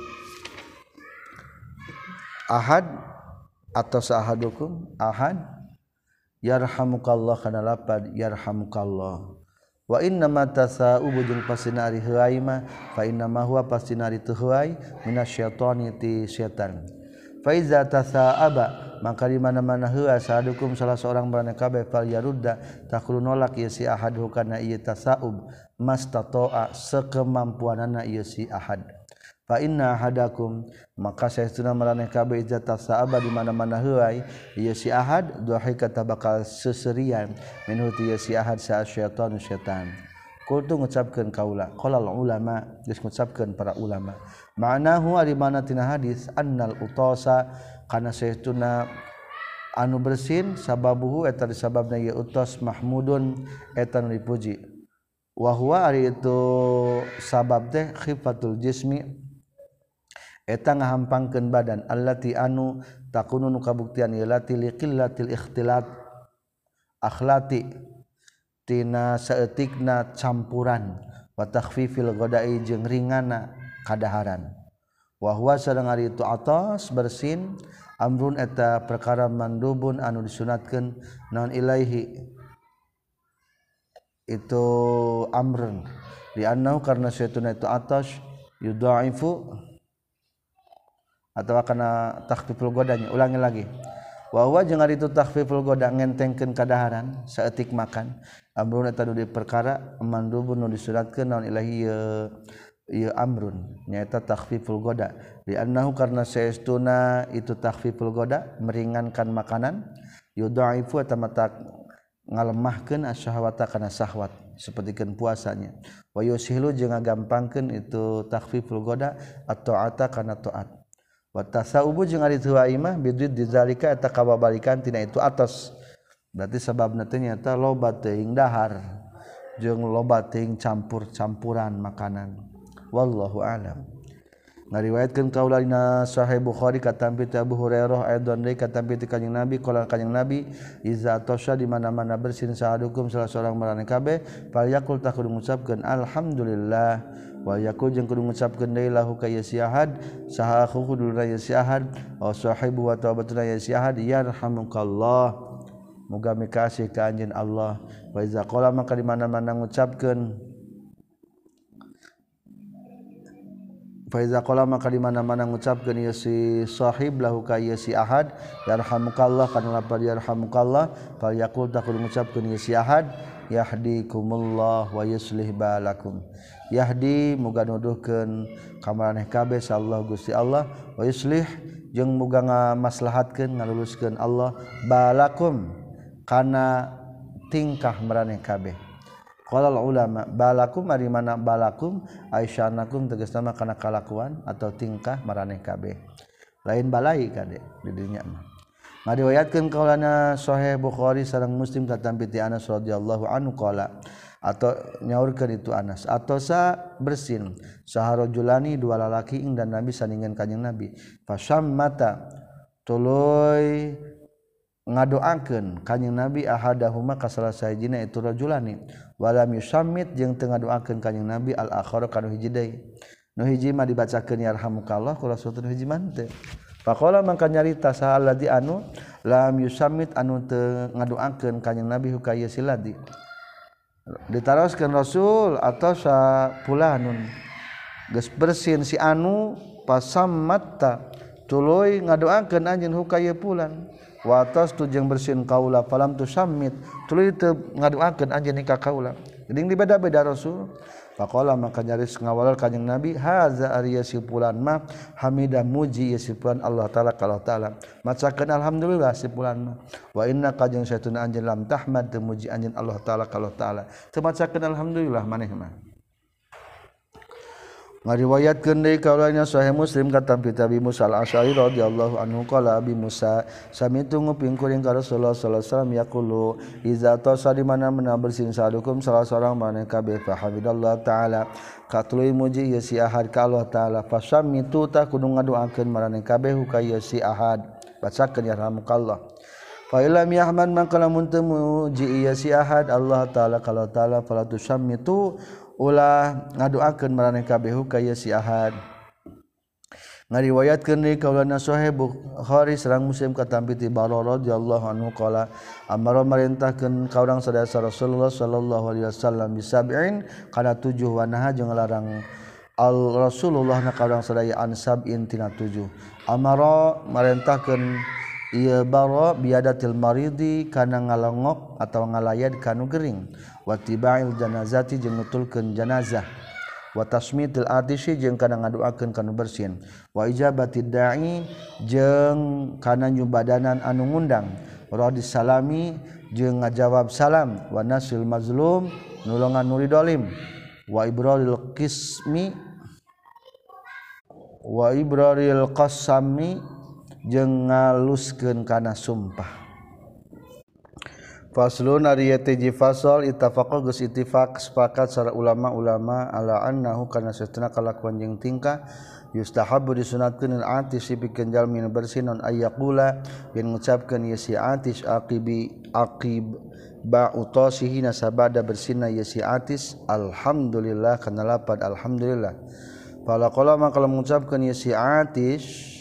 ahad atau sahadukum ahad yarhamukallah kana lapad yarhamukallah wa inna ma tasa'ubu jeung pasina ari heuai mah fa inna ma huwa pasina ari teu heuai minasyaitani ti setan fa iza tasa'aba maka di mana-mana heula sahadukum salah seorang barana kabeh fal yarudda taqulu nolak ieu si ahad hukana ieu tasa'ub mastata'a sakemampuanana ieu si ahad fa inna ahadakum maka saestuna maraneh kabeh iza tasa'aba di mana-mana heuai ieu si ahad dhahika bakal seserian minhu ieu si ahad sa syaitan syaitan kultu ngucapkeun kaula qala ulama geus ngucapkeun para ulama ma'nahu ari mana tina hadis annal utasa kana saestuna anu bersin sababuhu eta disababna ieu utos mahmudun eta nu dipuji wa huwa ari itu sabab teh khifatul jismi eta ngahampangkeun badan allati anu takunu nu kabuktian ieu lati liqillatil ikhtilat akhlati tina saeutikna campuran wa takhfifil ghadai jeung ringana kadaharan wa huwa sareng ari itu atas bersin amrun eta perkara mandubun anu disunatkeun naon ilaihi itu amrun di annahu karna sayyiduna itu atas yudhaifu atau kana takhfiful ghadanya ulangi lagi wa huwa jeung ari itu takhfiful ghada ngentengkeun kadaharan saeutik makan amrun eta nu di perkara mandubun nu disuratkeun naon ilahi ieu amrun nyaeta takhfiful ghada li annahu karna saestuna itu takhfiful ghada meringankan makanan yudhaifu eta mata ngalemahkeun asyahwata kana syahwat sapertikeun puasanya wa yusilu jeung ngagampangkeun itu takhfiful ghada at-ta'ata kana taat wa tasawubu jeung ari teu imah bidid dizalika eta kababalikan tina itu atos berarti sababna teh nyata loba teuing dahar jeung loba teuing campur-campuran makanan wallahu alam ngariwayatkeun kaula dina sahih Bukhari katampi ti Abu Hurairah aidon deui katampi ti Kanjeng Nabi qala Kanjeng Nabi iza tosha di mana-mana bersin sahadukum salah seorang maraneh kabeh fal yaqul ta kudu ngucapkeun alhamdulillah wa yaqul jeung kudu ngucapkeun deui lahu ka ieu si ahad saha kudu ieu si ahad wa sahibu wa tabatuna ieu si ahad yarhamukallah muga mikasih ka anjeun Allah wa iza qala maka di mana-mana ngucapkeun Faiza qala maka di mana-mana ngucapkeun ieu si sahib lahu ka ieu si ahad yarhamukallah kana lapar yarhamukallah fal yaqul taqul ngucapkeun ieu si ahad yahdikumullah wa yuslih balakum yahdi muga nuduhkeun ka maraneh kabeh sallallahu Gusti Allah wa yuslih jeung muga ngamaslahatkeun ngaluluskeun Allah balakum kana tingkah maraneh kabeh. Qala ulama balakum ari mana balakum aisyanakum tegasna kana kalakuan atau tingkah maraneh kabeh lain balai kade di dinya mah ngariwayatkeun kaulana sahih Bukhari sareng Muslim katampi ti Anas radhiyallahu anhu qala atau nyaurkeun itu Anas atau sa bersin saharojulani dua lalaki ing dan Nabi sandingan Kanjeng Nabi fasammata tuluy ngadoakeun Kanjeng Nabi ahadahuma ka salah sahijina itu rajulani walam yusammit jeung teu ngadoakeun Kanjeng Nabi al akhar kana hiji deui nu hiji mah dibacakeun yarhamukallah ku rasulullah hiji mah teu faqala mangka nyarita sahalladzi anu lam yusammit anu teu ngadoakeun Kanjeng Nabi hukaya siladi ditaroskeun Rasul atau sapulanun geus bersin si anu pasammatta tuluy ngadoakeun anjeun hukaya pulan wa tastu jeung bersin kaula falam tusammit tuluy teu ngadoakeun anjeun ka kaula geuning dibeda-beda Rasul faqala maka nyaris ngawalal Kanjeng Nabi haza ariya sipulan mah hamida muji sipulan Allah taala ka Allah taala macakeun alhamdulillah sipulan mah wa inna ka jeung satuna anjeun lam tahmad teu muji anjeun Allah taala ka Allah taala teu macakeun alhamdulillah maneh mah ngariwayatkeun deui kaulana sahih Muslim katampi Abi Musa al-Asy'ari radhiyallahu anhu qala Abi Musa samitu nguping kuring ka Rasulullah sallallahu alaihi wasallam yaqulu iza tasa di mana-mana bersin sadukum salah seorang maneh kabeh fa hamidallah taala katuluy muji ieu si ahad ka Allah taala fasamitu ta kudu ngadoakeun maraneh kabeh ka ieu si ahad bacakeun yarhamukallah fa illam yahmad maka lamun teu muji ieu si ahad Allah taala kalau taala fala tusammitu ulah ngadoakeun maraneh kabeh ka ieu si ahad. Ngariwayatkeun deui kaulana Sahih Bukhari sareng Muslim katampi ti Bararah radhiyallahu anhu qala amara marintahkeun ka urang sadaya Rasulullah sallallahu alaihi wasallam bisab'in kana 7 wa naha jeung larang al Rasulullah na ka urang sadaya an sab'in tina 7 amara marintahkeun ieu bara biadatil maridi kana ngalongok atawa ngalayad kanu gering wa tibail janazati jeung nutulkeun janazah wa tasmitil atishi jeung kana ngadoakeun kanu bersin wa ijabatid da'i jeung kana nyubadanan anu ngundang radis salami jeung ngajawab salam wa nasil mazlum nulungan nu dolim wa ibraril qismi wa ibraril qasami jeung ngaluskeun kana sumpah. Faslun ari teh fasal ittafaqo geus ittifaq sepakat sareng ulama-ulama ala annahu kana satuna kalakuan jeung tingkah yustahabbu disunatkeun al-atis pikeun jalmi nu bersih non ayyaqula yen ngucapkeun ieu si atis aqib ba utasihi nasabada bersihna ieu si atis alhamdulillah kana lapad alhamdulillah fala qala maka mengucapkeun ieu si atis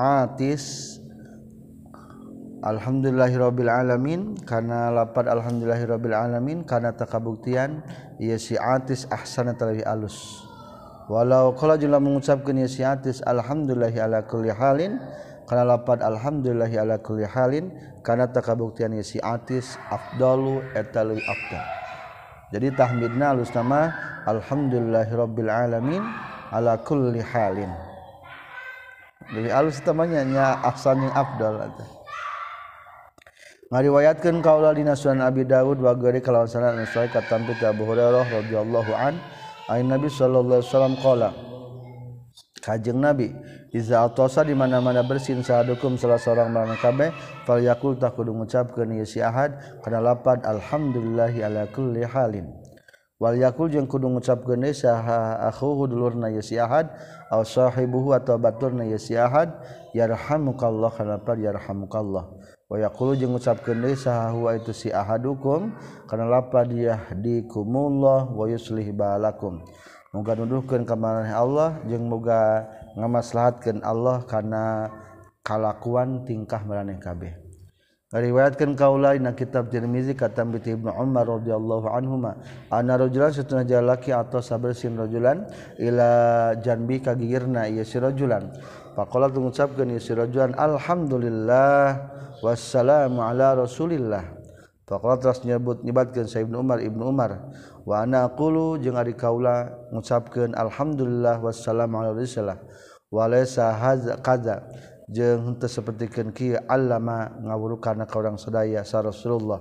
alhamdulillahirabbil alamin kana lapad alhamdulillahirabbil alamin kana takabuktian ieu si atis ahsana talawi alus walau qala jumlah mengucapkeun ieu si atis alhamdulillahi ala kulli halin kana lapad alhamdulillahi ala kulli halin kana takabuktian ieu si atis afdalu eta leuwih afdal jadi tahmidna alus nama alhamdulillahirabbil alamin ala kulli halin leuwih alus tamanya nya ahsan yang afdal eta. Ngariwayatkeun kaula dina Sunan Abi Dawud wa gari kalawan sanad anu sahih katampi ti Abu Hurairah radhiyallahu an ain Nabi sallallahu alaihi wasallam qala Kajeng Nabi iza atasa di mana-mana bersin sahadukum salah seorang maraneh kabeh fal yaqul ta kudu ngucapkeun ieu si ahad kana lapad alhamdulillahi ala kulli halin wal yaqul jeung kudu ngucapkeun deui saha akhuhu dulurna ieu si ahad aw sahibuhu atau baturna ieu si ahad yarhamukallah kana lapad yarhamukallah wa yaqulu jeung ngucapkeun deui saha huwa itu si ahadukum kana lapad yahdikumullah wa yuslih balakum muga nuduhkeun ka maraneh Allah jeung muga ngamaslahatkeun Allah kana kalakuan tingkah maraneh kabeh. Riwayatkeun kaula dina kitab Tirmizi katam ti Ibnu Umar radhiyallahu anhuma anna rajulan satuna jalaki atau sabersin rajulan ila janbi ka gigirna ieu si rajulan faqala ngucapkeun ieu si rajulan alhamdulillah wassalamu ala rasulillah faqala terus nyebatkeun sa Ibnu Umar wa ana aqulu jeung ari kaula ngucapkeun alhamdulillah wassalamu ala rasulillah wa laysa hadza jeung henteu sapertikeun kieu allama ngawurukanna ka urang sadaya sa Rasulullah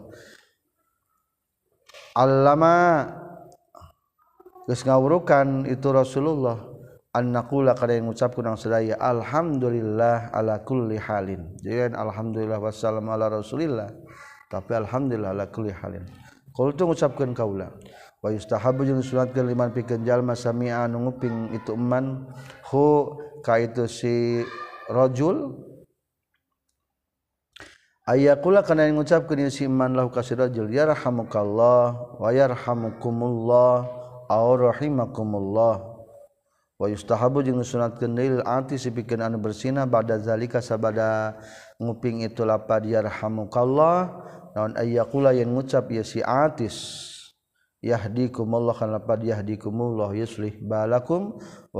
allama geus ngawurukan itu Rasulullah an naqula kada ngucapkeun urang sadaya alhamdulillah ala kulli halin jadi alhamdulillah wassalamu ala rasulillah tapi alhamdulillah ala kulli halin qultu ngucapkeun kaula wa yustahabbu jeung sunatkeun liman pikeun jalma sami'a anu nguping itu eman hu ka itu si rajul ayaqula kana ngucapkeun ieu si iman lahu ka si rajul yarhamukallah wa yarhamukumullah aw rahimakumullah wa yustahabu jeung sunatkeun deui ati sipikeun anu bersina ba'da zalika sabada nguping itu lapad yarhamukallah naon ayaqula yen ngucap ieu si atis yahdikumullah kana lapad yahdikumullah yuslih balakum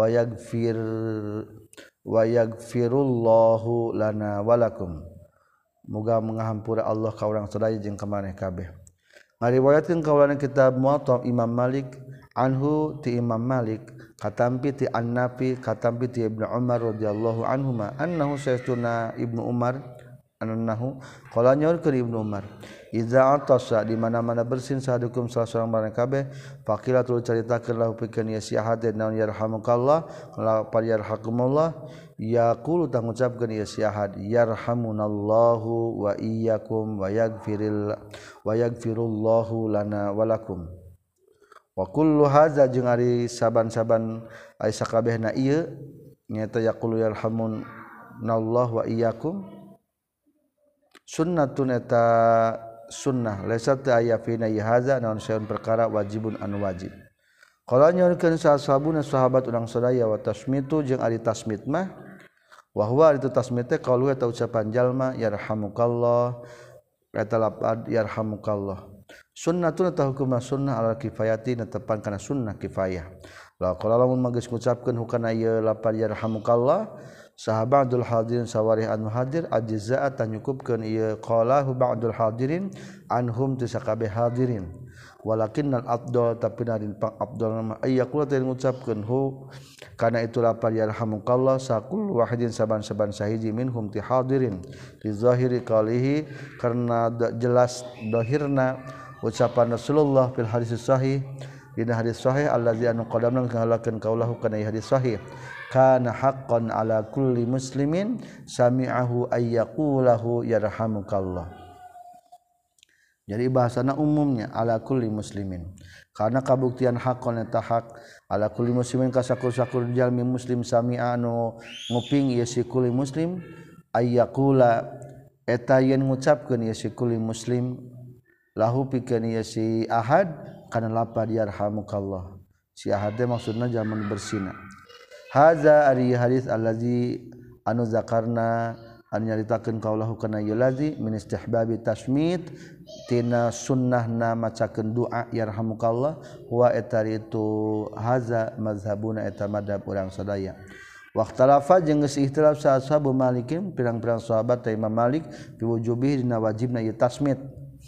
wa yaghfirullahu lana walakum muga mengahampura Allah ka urang sadaya jeung ka maneh kabeh ngariwayatkeun kaulana kitab Muwatta Imam Malik anhu ti Imam Malik katampi ti An-Nafi katampi ti Ibnu Umar radhiyallahu anhuma annahu sayyiduna Ibnu Umar annahu qala nyaurkeun Ibnu Umar iza atasa di mana-mana bersin sahadukum salah seorang maraneh kabeh faqila tu caritakeun lahu pikeun ieu si ahad naon yarhamukallah la yarhakumullah yaqulu ta ngucapkeun ieu si ahad yarhamunallahu wa iyyakum wa yaghfirullahu lana wa lakum wa kullu hadza jeung ari saban-saban ai sakabehna ieu nyaeta yaqulu yarhamunallahu wa iyyakum sunnatun eta sunnah laisa teu aya fina haza naon saeun perkara wajibun anu wajib. Qala nyorkeun sahabuna sahabat urang sadaya wa tasmitu jeung ari tasmit mah wa huwa itu tasmit teh qaulu eta ucapan jalma yarhamukallah eta lapad yarhamukallah. Sunnatun eta hukum sunnah ala kifayati netepan kana sunnah kifayah. La qala lamun magis ngucapkeun hukana ieu lapad yarhamukallah sahabat Abdul hadirin sawarih anu hadir ajzaa tanyukupkeun ieu qalahu ba'dul hadirin anhum tu sakabeh hadirin. Walakinnal afdal tapi narin pang afdal nama ayyaqul teh ngucapkeun hu kana itu lapar yarhamukallah sakul wahidin saban-saban sahiji minhum ti hadirin li zahiri qalihi karena jelas dohirna ucapan Rasulullah fil hadis sahih dina hadis sahih allazi anu qadamna ngalakeun kaulahu kana hadis sahih kana haqqan ala kulli muslimin sami'ahu ayyaqulahu yarhamukallah. Jadi bahasana umumnya ala kulli muslimin karena kabuktian hakon eta hak ala kulli muslimin ka sakur-sakur jalmi muslim sami'a anu nguping ieu si kulli muslim ayyaqula eta yen ngucapkeun ieu si kulli muslim lahu pikeun ieu si ahad kana lapad yarhamukallah si ahad teh maksudna zaman bersina haza ari hadis allazi anu zakarna anu nyaritakeun kaulahu kana ieu lazi min istihbabi tasmit tina sunnahna macakeun doa yarhamukallah wa eta itu haza mazhabuna eta madhab urang sadaya waqtalafa jeung geus ihtilaf sa ashabu malikin pirang-pirang sahabat ta Imam Malik fi wujubihi dina wajibna ieu tasmit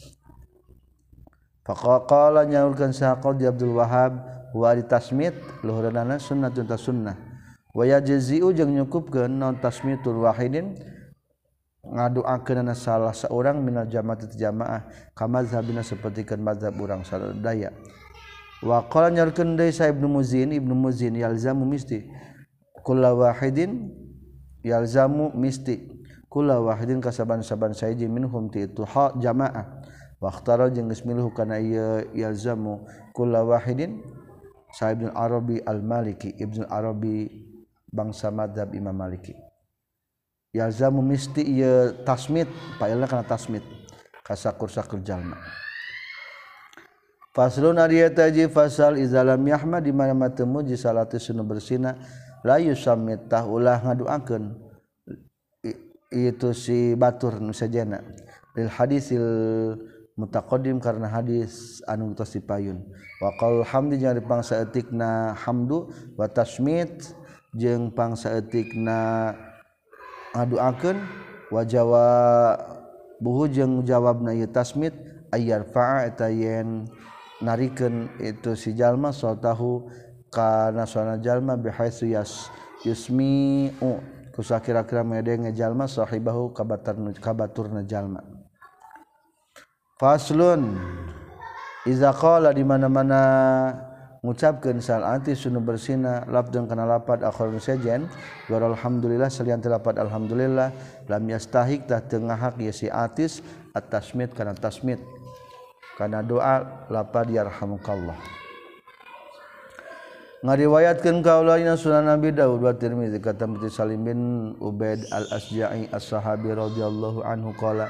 faqala nyaulkeun sahaqad di Abdul Wahhab wa di tasmit luhurna sunnatun ta sunnah wa yajzi'u jeung nyukupkeun naon tasmitul wahidin ngadoakeun salah seorang minal jamaah jamaah kama mazhabina sapertikeun mazhab urang sadaya wa qala nyarkeun deui sa Ibnu Muzin yalzamu misti kullu wahidin yalzamu misti kullu wahidin kasaban-saban sahiji minhum ti itu jamaah wa ikhtara jeung geus milih kana ieu yalzamu kullu wahidin sa Ibnu Arabi al-Maliki Ibnu Arabi bangsa mazhab Imam Maliki yalzamu misti ieu tasmit paelna kana tasmit kasakur-sakur jalma faslun ari eta ji fasal izalam yahmad di mana teu muji salatu sunu bersina la yusammit tah ulah ngaduakeun itu si batur nu sajana lil hadisil mutaqaddim karena hadis anu tos dipayun wa qaul hamdi jeung pangsa etikna hamdu wa tasmit jeung pangsa etikna ngaduakeun wa jawabuhu jeung jawabna ieu tasmit ayyarfa'a eta yen narikeun itu si jalma sautahu kana suara jalma bihaitsu yusmi'u kusakira-kira medenge jalma sahibahu kabaturna jalma faslun iza qala di mana-mana ngucapkeun salati sunu bersina lafdun kana lapad akhirun sajen wa alhamdulillah salian lapad alhamdulillah lam yastahik tah teu ngahak ieu si atis at-tasmit kana tasmit kana doa lapad yarhamukallah ngariwayatkeun kaulaina sunan Nabi Daud wa Tirmizi kata Salim bin Ubaid al-Asja'i as-sahabi radhiyallahu anhu qala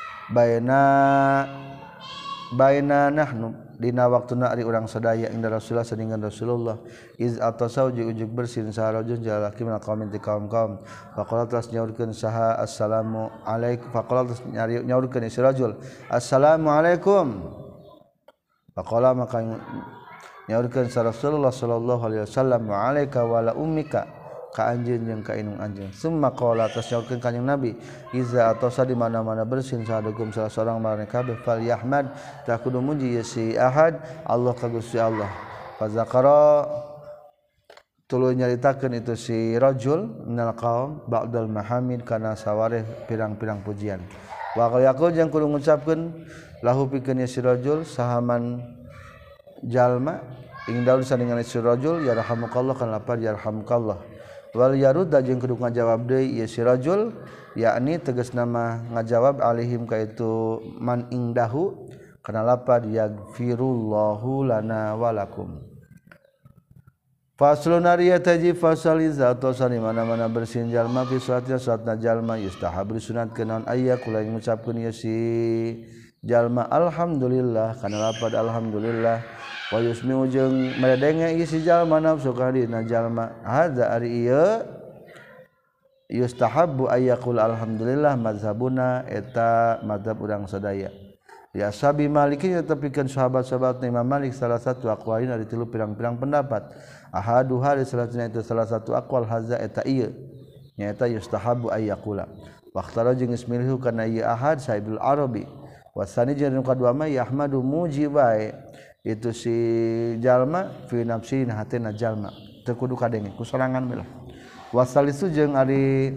baina nahnu dina waktuna ari urang sadaya inda Rasulullah sadingan Rasulullah iz atasau ujug bersin saharajun jalaki min qaumin ti kaum-kaum faqala tas nyaurkeun saha assalamu alaikum faqala tas nyaurkeun si rajul assalamu alaikum faqala maka nyaurkeun sa Rasulullah sallallahu alaihi wasallam wa alaika wa la ummika ka anjeun jeung ka indung anjeun summa qala tas nyaurkeun kanjing Nabi iza atasa di mana-mana bersin sahadukum salah seorang marane kabeh fal yahmad tak kudu muji si ahad Allah ka Gusti Allah fa zakara tuluy nyaritakeun itu si rajul minal qaum ba'dal mahamid kana sawareh pirang-pirang pujian wa yaqul jeung kudu ngucapkeun lahu pikeun si rajul sahaman jalma ing daul sandingan si rajul yarhamukallah kana lapar yarhamukallah wal yarudda jeung kudu ngajawab deui ieu si rajul yakni tegasna mah ngajawab alaihim ka itu man indahu kana lapad yaghfirullahu lana walakum Faslun ari taji fasal iza tosan di mana-mana bersin jalma fi salatnya salatna jalma yustahab disunatkeun naon aya kula ngucapkeun ieu si jalma alhamdulillah kana lapad alhamdulillah wa yusmi'u jeung meredenge ieu si jalma nafsu ka dina jalma hadza ari ieu yustahabbu ayyaqul alhamdulillah mazhabuna eta mazhab urang sadaya ya sabi malikin tepikeun sahabat-sahabat Imam Malik salah satu aqwalin ari tilu pirang-pirang pendapat ahaduha salatna itu salah satu aqwal hadza eta ieu nyaeta yustahabbu ayyaqula waqtara jeung ismilhu kana ieu ahad saibul arabi wasani jeung kadua mah yahmadu mujibai itu si jalma fi nafsi hatina jalma teu kudu kadenge ku sorangan bae lah wasalisu jeung ari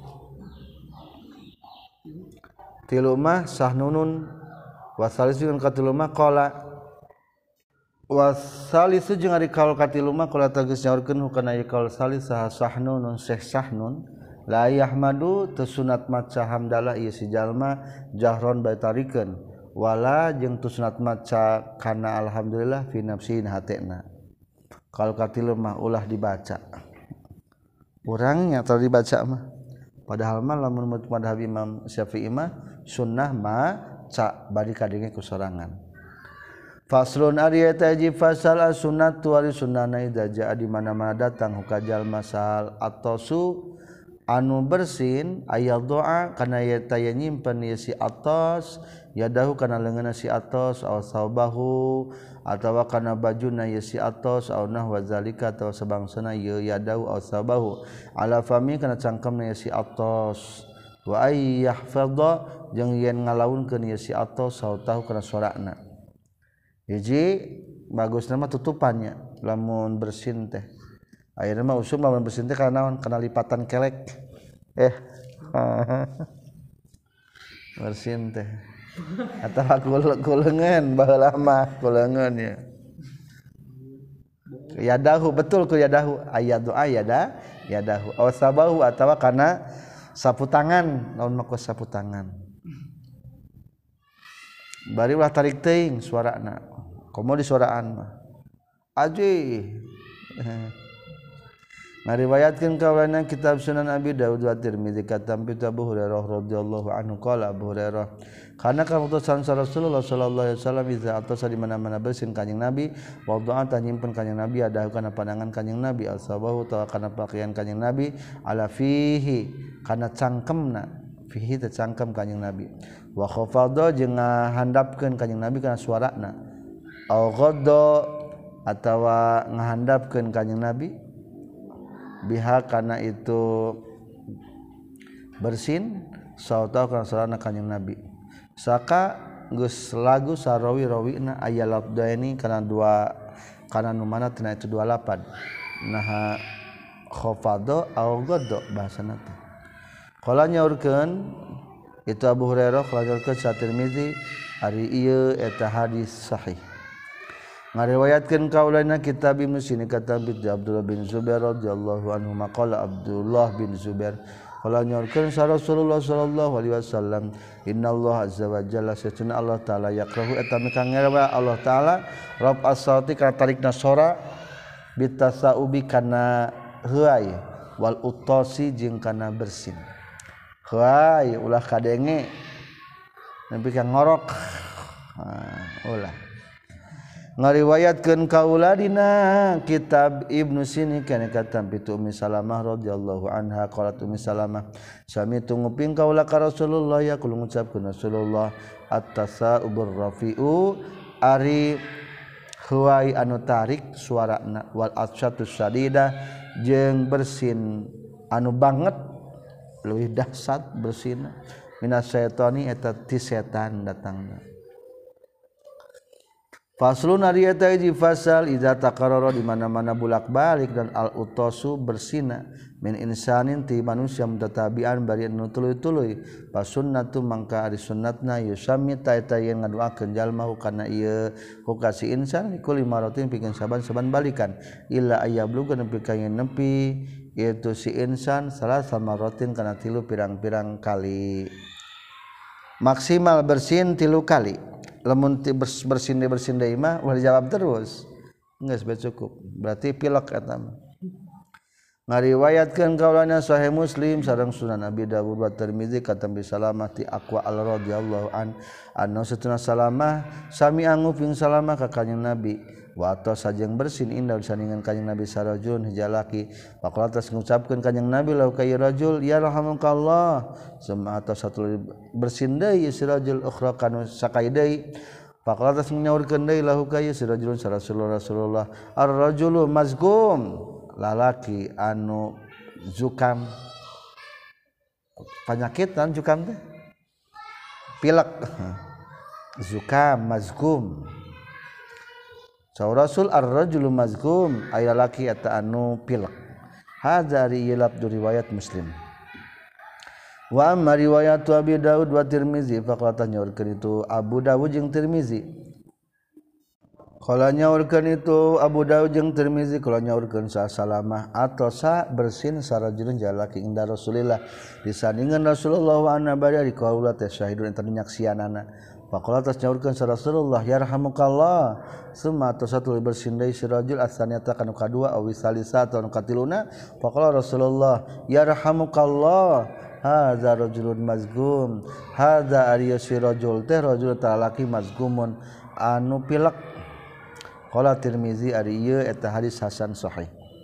tilu mah sahnunun wasalisu jeung katilu mah qala wasalisu jeung ari kaul katilu mah qala tegas nyaurkeun hukana ieu kaul salis saha sahnun syekh sahnun la yahmadu teu sunat maca hamdalah ieu si jalma jahron bae tarikeun wala jeung teu sunat maca kana alhamdulillah fi nafsi hatena kaul katilu mah ulah dibaca urangnya teu dibaca mah padahal mah lamun madhab Imam Syafi'i mah sunnah maca bari kadenge ku sorangan. Faslun ari eta hiji fasal as-sunnatu ari sunnahna idza jaa di mana-mana datang hukajal masal atosu anu bersin aya doa kana eta aya nyimpen ieu si atos yadahu kana leungeunna si atos aw saubahu atawa kana bajuna ieu si atos aw nahwa zalika atawa sabangsana ieu yadahu aw saubahu ala fami kana cangkemna ieu si atos wa ay yahfadha jeung yen ngalaunkeun ieu si atos sautahu kana suarana hiji bagusna mah tutupannya lamun bersin teh ayeuna mah usum lamun bersin teh kana naon kana lipatan kelek bersin teh atawa kuleungeun baheula mah kuleungeun ya yadahu betul ku yadahu ayadu yadahu aw sabahu atawa kana sapu tangan naon mah ku sapu tangan bari ulah tarik teuing suarana komo di suaraan mah aji ngariwayatkeun kaulana kitab Sunan Abi Daud wa Tirmizi katam bi Abu Hurairah radhiyallahu anhu qala Abu Hurairah kana kautusan Rasulullah sallallahu alaihi wasallam iza atasa di mana-mana bersin kanjing Nabi wa doa nyimpen kanjing Nabi ada kana pandangan kanjing Nabi al-sabahu tawa kana pakaian kanjing Nabi ala fihi kana cangkemna fihi teh cangkem kanjing Nabi wa khafadha jeung ngahandapkeun kanjing Nabi kana suarana aw ghadda atawa ngahandapkeun kanjing Nabi biha kana itu bersin sautau kana suarana kanjing Nabi saka geus lagu sarawi-rawina aya lafdaini kana dua kana nu mana tina itu dua lapad nah khafadha aw ghadda bahasana teh qala nyaurkeun itu Abu Hurairah kalajarkeun sa Tirmizi ari ieu eta hadis sahih ngariwayatkeun kaulana kitab Ibnu Sini kata Abdullah bin Zubair radhiyallahu anhu maqala Abdullah bin Zubair qala nyorkeun sa Rasulullah sallallahu alaihi wasallam innallaha azza wa jalla satuna Allah taala yakrahu eta mika ngerewa Allah taala rab as-sauti kana tarikna sora bitasaubi kana heuai wal utosi jeung kana bersin heuai ulah kadenge nepi ka ngorok ulah ngariwayatkeun kaula dina kitab Ibnu Sini kana katam pitu Ummi Salamah radhiyallahu anha qalat Ummi Salamah sami tunguping kaula ka Rasulullah ya kula ngucapkeun Rasulullah at-tasa'ubur rafi'u ari huwai anu tarik suarana wal atsatu sadida jeung bersin anu banget leuwih dahsyat bersina minas syaitani eta ti setan datangna. Faslun ari eta hiji fasal idza taqarrara di mana-mana bulak-balik dan al-utasu bersina min insanin ti manusia mutatabian bari anu tuluy-tuluy pasunnatu mangka ari sunnatna yusami ta eta yen ngaduakeun jalma kana ieu hukasi insan kulli maratin pikeun saban-saban balikan illa ayyabluga nepi ka yen nepi itu si insan salah samaratin kana tilu pirang-pirang kali maksimal bersin 3 kali lamun bersin deui mah ulah dijawab terus geus bae cukup berarti pilek eta mah ngariwayatkeun kaulana Sahih Muslim sareng Sunan Abi Dawud wa Tirmizi katambi Salamah ti Aqwa al radhiyallahu anna satuna Salamah sami anguping Salamah ka kanjing Nabi wa atos sajeng bersin indah disandingan kanjing Nabi sarajun hijalaki faqala tas ngucapkeun kanjing Nabi lau ka rajul ya rahamukallah sama atos satu bersin deui si rajul ukhra kanu sakai deui faqala tas nyaurkeun deui lahu ka si rajulun Rasulullah ar-rajulu mazgum lalaki anu zukam penyakitan zukam teh pilek zukam mazgum saur Rasul ar-rajulu mazgum aya lalaki eta anu pilek hadza riwayat Muslim wa amma riwayat Abi Daud wa Tirmizi faqala nyaurkeun itu Abu Dawud jeung Tirmizi kalau nyaurkeun itu Abu Daud jeung Tirmizi kalau nyaurkeun Salamah atau sa bersin sarajulun jalaki inda Rasulillah disandingan Rasulullah wa anna bari di kaula teh syahidun enta nyaksianana faqala tas nyaurkeun Rasulullah yarhamukallah summa atau satu bersin deui sirajul asaniyata kanu kadua awi salisa atau katiluna faqala Rasulullah yarhamukallah hadza rajulun mazgum hadza ariyasi rajul teh rajul talaki mazgumun anu pilek qala Tirmizi ari ieu eta hadis hasan sahih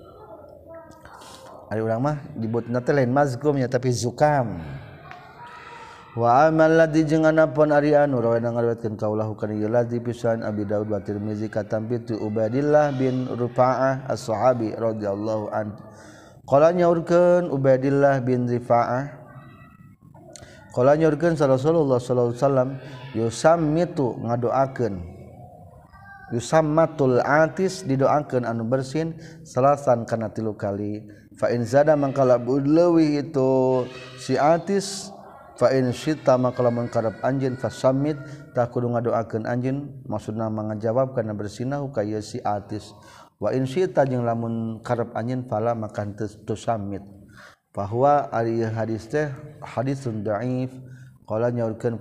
ari urang mah dibutna teh lain mazgum nya tapi zukam wa amal ladzi jeung anapun ari anu rawana ngariwayatkeun kaulahu kana ieu ladzi pisan Abi Daud wa Tirmizi katampi tu Ubaidillah bin Rufa'ah as-sahabi radhiyallahu anhu qala nyaurkeun Ubaidillah bin Rifa'ah qala nyaurkeun Rasulullah sallallahu alaihi wasallam yusammitu ngadoakeun yusammatul atis didoakeun anu bersin salasan kana 3 kali fa in zada mangkala leuwih itu si atis fa in syita mangkala mun karep anjeun fasammit tah kudu ngadoakeun anjeun maksudna mangajawab kana bersinahu ka ieu si atis wa in syita jeung lamun karep anjeun fala maka teu sammit bahwa ari hadis teh hadisun dhaif qala nyaurkeun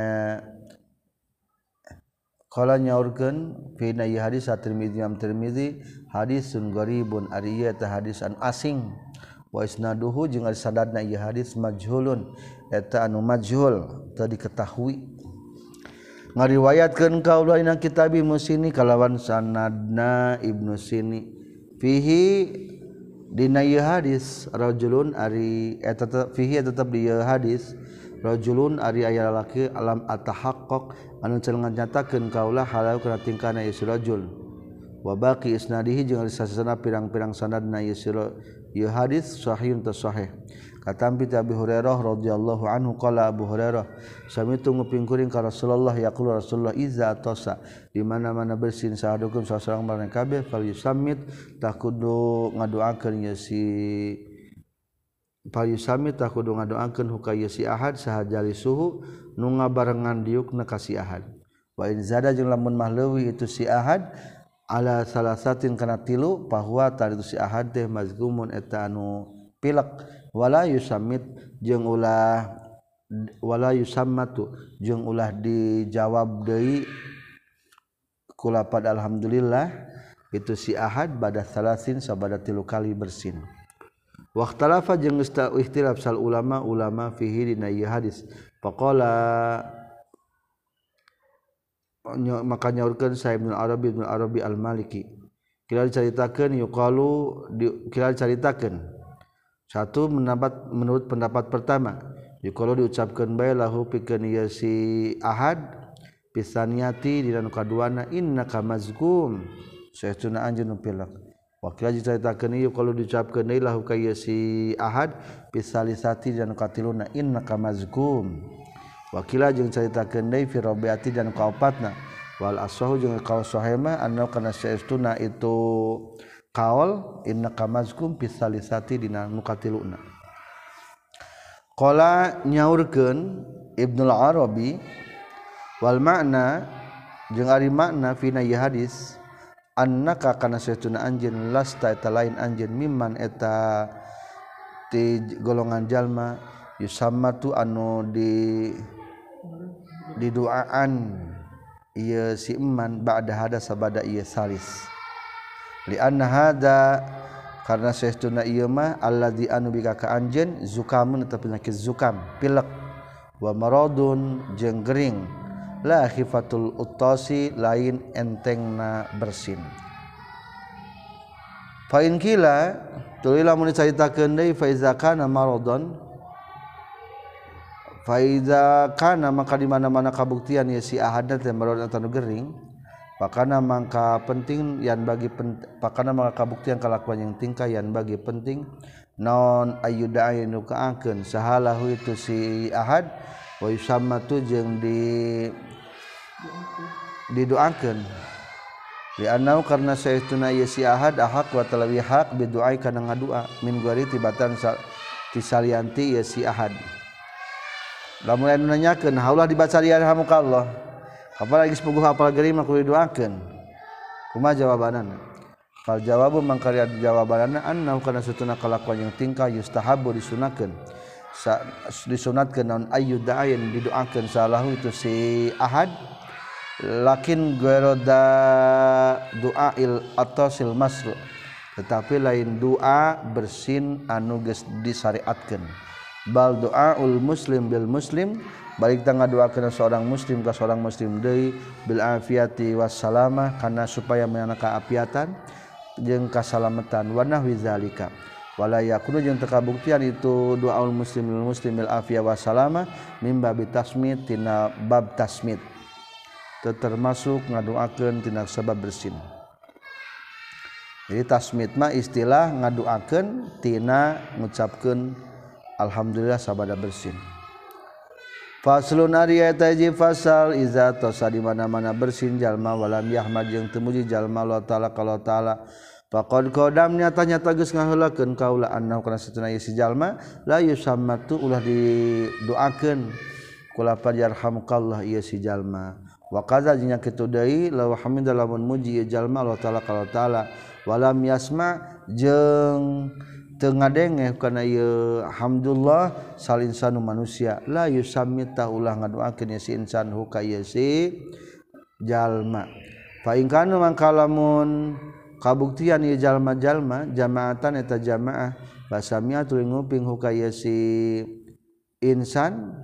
fina ieu hadis at-Tirmizi Imam Tirmizi hadisun gharibun ari ieu teh hadis anu asing wa isnaduhu jeung ari sanadna ieu hadis majhulun eta anu majhul teu diketahui ngariwayatkeun kaula ina kitab Musini kalawan sanadna Ibnu Sini fihi dina ieu hadis rajulun ari eta fihi tetep di ieu hadis rajulun ari aya lalaki alam atahaqqaq anu cenah nyatakeun kaula halau kana tingkahna ieu rajul wa baqi isnadihi jeung ari sasana pirang-pirang sanadna ieu hadis sahihun tasahih katampi Abi Hurairah radhiyallahu anhu qala Abu Hurairah samitu nguping kuring ka Rasulullah yaqulu Rasulullah iza tosa di mana-mana bersin sahadukum sasalang barang kabeh fal yusammit takudu ngadoakeun ieu si Payusami tak kudu ngadoakeun hukaya si ahad sahajali suhu nu ngabarengan diukna ka si ahad wa in zada jeung lamun mah leuwih itu si ahad ala salasatin kana 3 bahwa tadi itu si ahad teh mazgumun eta anu pilek wala yusammit jeung ulah wala yusammatu jeung ulah dijawab deui ku lapad alhamdulillah itu si ahad bada salasin sabada 3 kali bersin waqtalafa jeung geus ikhtilaf sal ulama fihi dina ieu hadis faqala maka nyaurkeun sa Ibnu Arabi al-Maliki kira dicaritakeun satu menurut pendapat pertama yuqalu diucapkeun bae lahu pikeun ieu si ahad pisaniyati dina nu kaduana innaka mazgum saestuna anjeun nu pilek wakil diceritakeun ieu kalau diucapkeun deui lahu ka ieu si ahad pisalisati dan katiluna innaka mazkum wakila jeung caritakeun deui fi rabiati dan kaopatna wal asahu jeung kaul sahema anna kana saestuna itu kaul innaka mazkum pisalisati dina nu katiluna qala nyaurkeun Ibnu Arabi wal makna jeung ari makna fina ieu hadis annaka kana saestuna anjeun lasta eta lain anjeun mimman eta ti golongan jalma yusammatu anu di doaan ieu si eman ba'da hada sabada ieu salis li anna hada karena saestuna ieu mah alladzi anu bika ka anjeun zukamun eta penyakit zukam pilek wa maradun jeung gering la khifatul uttasi lain entengna bersin fa in kila tuluy lamun dicaritakeun deui fa iza kana maradun fa iza kana maka di mana-mana kabuktian ya si ahadna teh maradun atau gering pakana mangka penting yan bagi pakana mangka kabuktian kalakuan yang tingkah yan bagi penting naon ayyuda anu kaakeun sahalahu itu si ahad wa yusamma tu jeung didoakeun li annau karna saestuna ieu si ahad ahad wa talawi haq biduai kana ngadua min guari tibatan tisalianti ieu si ahad lamun anu nanyakeun haulah dibaca yarhamukallah kapan lagi sepuguh apal gering mah kudu didoakeun kumaha jawabanana fal jawabu mangkari jawabanana annahu kana satuna kalakuan yang tingkah yustahabu disunatkeun naon ayyudain didoakeun salahu itu si ahad lakin ghairoda du'ail atasil masru tetapi lain doa bersin anu geus disyariatkeun bal doaul muslim bil muslim balik tangga doakeun seorang muslim ka seorang muslim deui bil afiyati wassalamah kana supaya meunana kaafiatan jeung kasalamatan wa nahwi zalika wala yakunu jeung teu kabuktian itu doaul muslim bil muslim bil afiyah wassalamah mimba bitasmid tina bab tasmid teu termasuk ngadoakeun tina sabab bersin jadi tasmid mah istilah ngadoakeun tina ngucapkeun alhamdulillah sabada bersin faslun ari eta hiji fasal iza tosa di mana-mana bersin jalma walam yahmad jeung teu muji jalma Allah taala kalau taala faqad qadam nyata-nyata geus ngaheulakeun kaula annahu kana satuna ieu si jalma la yusammatu ulah didoakeun kula yarhamukallah ieu si jalma wa qaza jeung kitu deui law hamida lamun muji ieu jalma Allah taala kalau taala walam yasma jeung teu ngadengeh kana ieu hamdulillah salinsanu manusia la yusammita ulah ngadoakeun si insan hu ka ieu si jalma fa in kana mangka lamun kabuktian ieu jalma-jalma jamaatan eta jamaah basamia tuluy nguping hu ka ieu si insan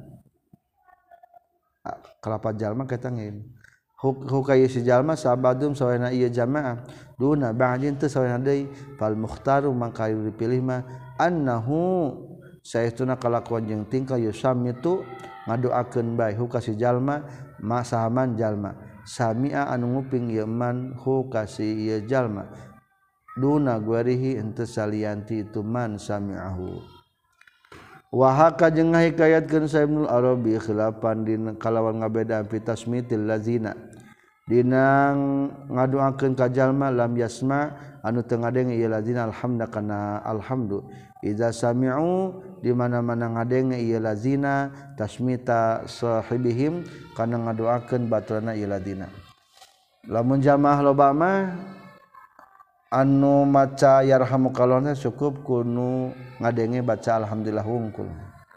kalapat jalma kita ngeun hukai si jalma sabadum sawana ieu jamaah duna ba'din teu sawana deui fal mukhtaru mangka dipilih mah annahu saestuna kalakuan jeung tingkah yusamitu ngadoakeun bae hukasi jalma masahaman jalma samia anu nguping ieu man hukasi ieu jalma duna guarihi henteu salianti itu man sami'ahu wa haka jeung ngahikayatkeun sa Ibnu Arabi khilafan dina kalawan ngabedaan fi tasmitil lazina dina ngadoakeun ka jalma lam yasma anu teu ngadenge ieu lazina alhamda kana alhamdu idza sami'u di mana-mana ngadenge ieu lazina tasmita sahibihim kana ngadoakeun baturana ieu lazina lamun jamaah loba mah anu maca yarhamukallah cukup kudu ngadenge baca alhamdulillah wungkul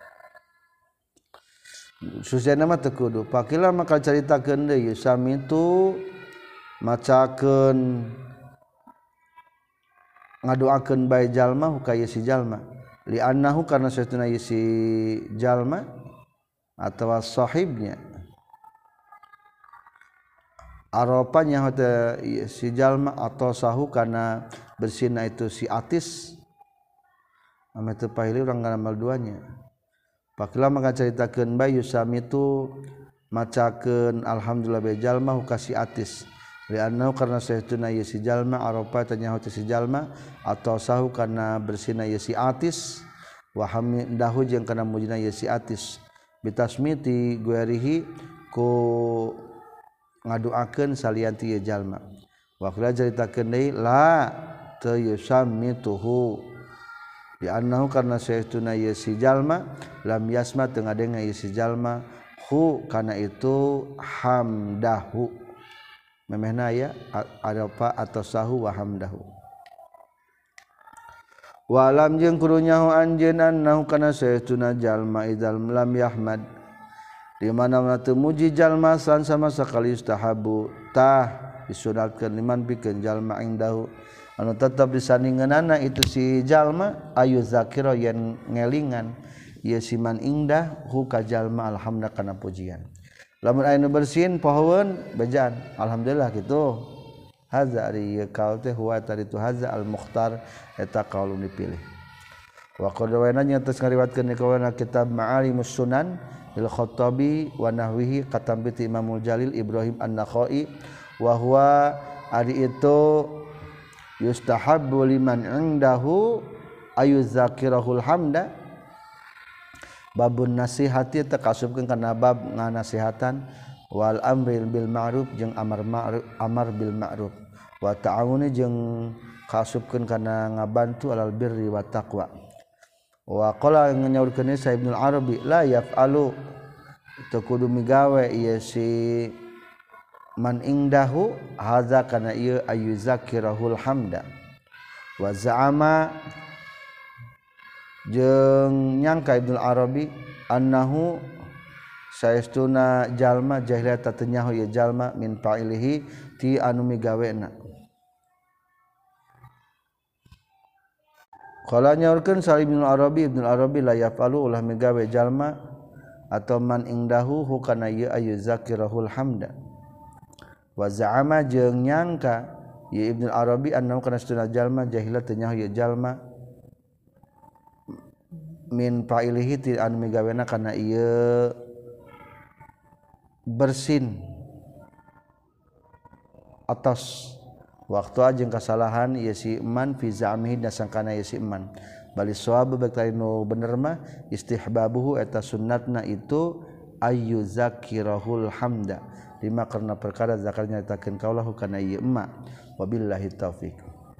susana mah teu kudu pakila maka caritakeun deui sami tu macakeun ngadoakeun bae jalma hukaya si jalma li annahu karna satuna si jalma atawa sahibnya arapanya hata si jalma atau sahu kana bersina itu si atis ame teu pahili urang ngaramal duanya pakila maka caritakeun bae yusami itu macakeun alhamdulillah bae jalma hukasi atis li annahu karna saestuna ieu si jalma arafa tanya hata si jalma atau sahu kana bersina ieu si atis wa hamidahu jeung kana mujina ieu si atis bitasmiti guarihi ku ngadoakeun salianti ieu jalma wa qala caritakeun deui la teu yusammituhu di annahu karna saestuna ieu si jalma lam yasma teu ngadenge ieu si jalma hu kana itu hamdahu memehna aya arafa atau sahu wa hamdahu wa lam jeung kudu nyaho anjeun annahu kana saestuna jalma idzal lam yahmad di mana-mana teu muji jalma san sama sakali yustahabu tah disunatkeun liman pikeun jalma indahu anu tetap disandinganana itu si jalma ayu zakira yen ngelingan ieu si man ingdah hu ka jalma alhamda kana pujian lamun aya nu bersin pohoeun bejaan alhamdulillah kitu haza ari ieu kaul teh huwa tadi tu haza al mukhtar eta kaul dipilih wa qadawayna nya tos ngariwatkeun ka wana kitab Ma'alimus Sunan lil Khattabi wa nahwihi katam bi Imamul Jalil Ibrahim An-Nakhai wa huwa ari itu yustahabbu liman indahu ayuzakirahul hamda babun nasihati takasubkeun kana bab nganasihatan wal amril bil ma'ruf jeung amar bil ma'ruf wa ta'awuni jeung kasubkeun kana ngabantu alal birri wa taqwa wa qala nyaurkeun sa Ibnu Arabi la yaf'alu teu kudu migawe ieu si man indahu hadza kana ieu ayuzakirahul hamda wa za'ama jeung nyangka Ibnu Arabi annahu saestuna jalma jahiliyah teu nyaho ieu jalma min fa'ilihi ti anu migawena qala nyaurkeun sa Ibnu Arabi la yafalu ulah migawe jalma atau man indahu hukana ieu ayuzakirahul hamda wa za'ama jeung nyangka ieu Ibnu Arabi annahu kana saestuna jalma jahiliyah teu nyaho ieu jalma min fa'ilihi ti anu migawena kana ieu bersin atas waktu ajeng kasalahan ieu si man fi za'mihi dasangkana ieu si man bali shawab baik nu bener mah istihbabuhu eta sunnatna itu ayyuzakirahul hamda lima karena perkara zakarnya nyatakeun kaulahu kana ieu emma wabillahi taufik.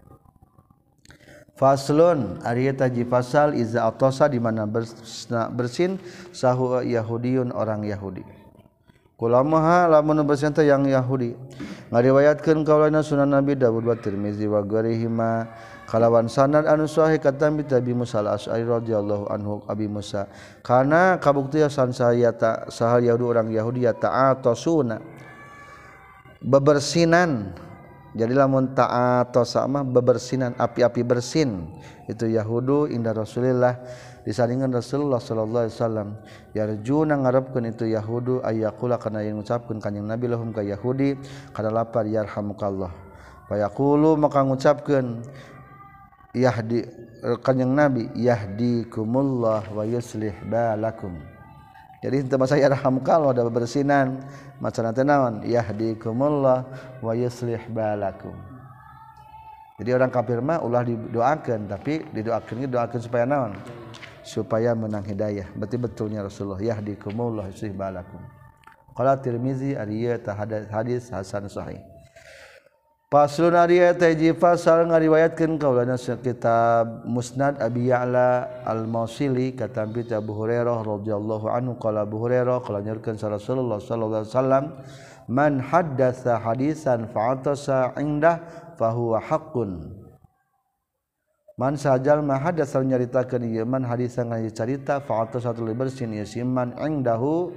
Faslun ari eta ji fasal iza atosa di mana bersin sahu yahudiyun orang Yahudi. Kulamaha lamun bersin teh yang Yahudi. Ngariwayatkeun kaulana Sunan Nabi Dawud wa Tirmizi wa ghairihima kalawan sanad anu sahih katam bi Abi Musa al-Asy'ari radhiyallahu anhu Abi Musa kana kabuktian saya ta sahal Yahudi orang Yahudi ya ta'atosuna bebersinan. Jadi lamun ta'atosa mah bebersinan api-api bersin itu Yahudu inda Rasulillah disandingan Rasulullah sallallahu alaihi wasallam yarjuna ngarepkeun itu Yahudu ayaqula kana yang ngucapkeun kanjing Nabi lahum ka Yahudi kana lapar yarhamukallah fa yaqulu maka ngucapkeun yahdi kanjing Nabi yahdikumullah wa yuslih balakum. Jadi teu masa yarhamukallah da bebersinan macana teh naon yahdikumullah wa yuslih balakum. Jadi orang kafir mah ulah didoakeun tapi didoakeun doakeun supaya naon? Supaya menang hidayah. Berarti betulnya Rasulullah yahdikumullah wa yuslih balakum. Qala Tirmizi ari ieu tah hadis hasan sahih. Faslun ari eta hiji fasal ngariwayatkeun kaulana kitab Musnad Abi Ya'la Al-Mausili katam bi Abu Hurairah radhiyallahu anhu qala Abu Hurairah qala nyurkeun Rasulullah sallallahu alaihi wasallam man haddatsa hadisan fa'atasa indah fahuwa haqqun. Man sajal ma hadatsa nyaritakeun ieu man hadisan nganya carita fa'atasa tuluy bersin ieu siman indahu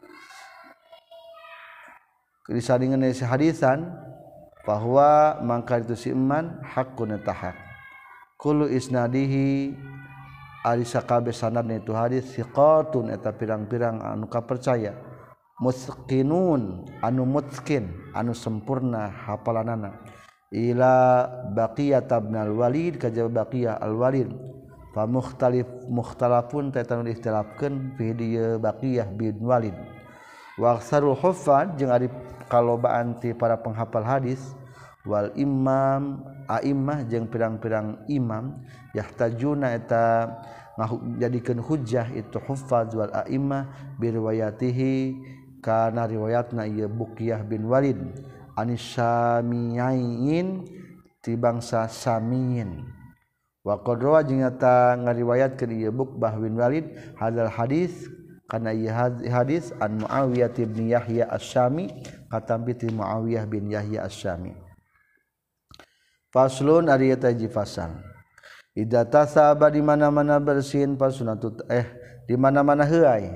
disandingan si hadisan bahwa mangka itu si iman hakun eta hak kullu isnadihi ari sakabe sanadna itu hadis siqatun eta pirang-pirang anu kapercaya mutqinun anu mutqin anu sempurna hafalanana ila baqiyah ibnul walid kajaba baqiyah al walid fa mukhtalafun ta anu ikhtilafkeun fi dieu baqiyah bin walid wa aksarul huffaz jeung ari kalobaan ti para penghafal hadis wal imam a'immah jeung pirang-pirang imam yahtajuna eta ngajadikeun hujjah itu huffaz wal a'immah bi riwayatihi kana riwayatna ieu Buqiyah bin Walid anis Samiyin ti bangsa Samiyin wa qadra jeung eta ngariwayatkeun ieu Buqbah bin Walid hadzal hadis kana ieu hadis an Muawiyah bin Yahya Asy-Syami katam bi Muawiyah bin Yahya Asy-Syami. Faslun ari eta hiji fasal. Idza tasaba di mana-mana bersin fasunatut di mana-mana heuai.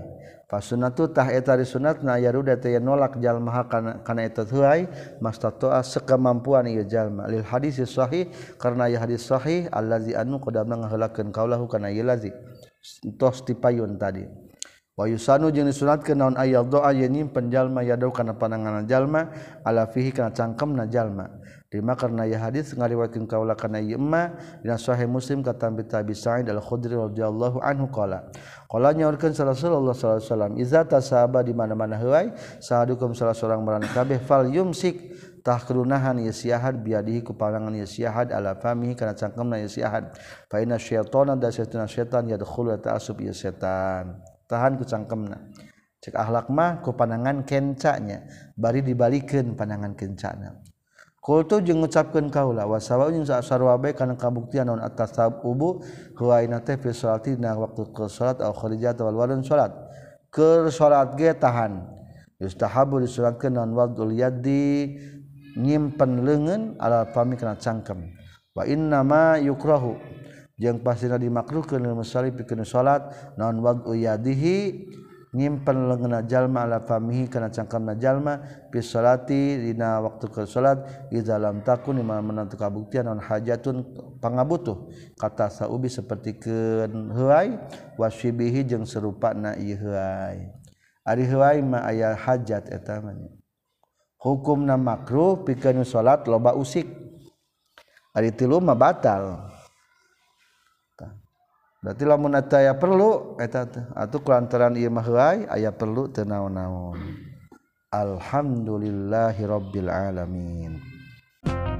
Fasunatu tah eta ari sunatna yaruda teh nolak jalma kana eta heuai mastatoa sakemampuan ieu jalma lil hadis sahih karena ya hadis sahih allazi anu qadamna ngaheulakeun kaulahu kana ieu lazi tos tipayun tadi wa yusanu jeung disunatkeun naon aya doa yen nyimpen jalma yadau kana pananganan jalma ala fihi kana cangkemna jalma lima karena ya hadis ngariwayatkeun kaulah kana ieu emma dina sahih Muslim kata Abi Sa'id Al-Khudri radhiyallahu anhu qala nyaurkeun Rasulullah sallallahu alaihi wasallam iza tasaba di mana-mana heuai sahadukum salah seorang marana kabeh fal yumsik tah kerunahan ieu siahad biadihi ku panangan ieu siahad ala famihi kana cangkemna ieu siahad fa inna syaitana da setan yadkhulu ta'asub ieu setan tahan ku cangkemna cek akhlak mah ku panangan kencanya bari dibalikeun panangan kencana Qultu jeung ngucapkeun kaula wasawa jeung sarua bae kana kabuktian naon atas ubu huwaina teh fi salati dina waktu ke salat au kharijat wal wadan salat keur salat ge tahan yustahabu disuratkeun naon wadul yaddi nyimpen leungeun ala pami kana cangkem wa inna ma yukrahu jeung pastina dimakruhkeun lil musalli pikeun salat naon wadu yadihi nyimpen leungeunna jalma ala famihi kana cangkemna jalma fi salati dina waktu ke salat iza lam takun imam menantu kabuktian naon hajatun pangabutuh kata saubi sapertikeun heuai wasyibihi jeung serupana ieu heuai ari heuai mah aya hajat eta mah hukumna makruh pikeun salat loba usik ari tilu mah batal berarti lamun eta aya perlu eta teh atuh kulantaran ieu mah heuai aya perlu teu naon-naon alhamdulillahirabbil alamin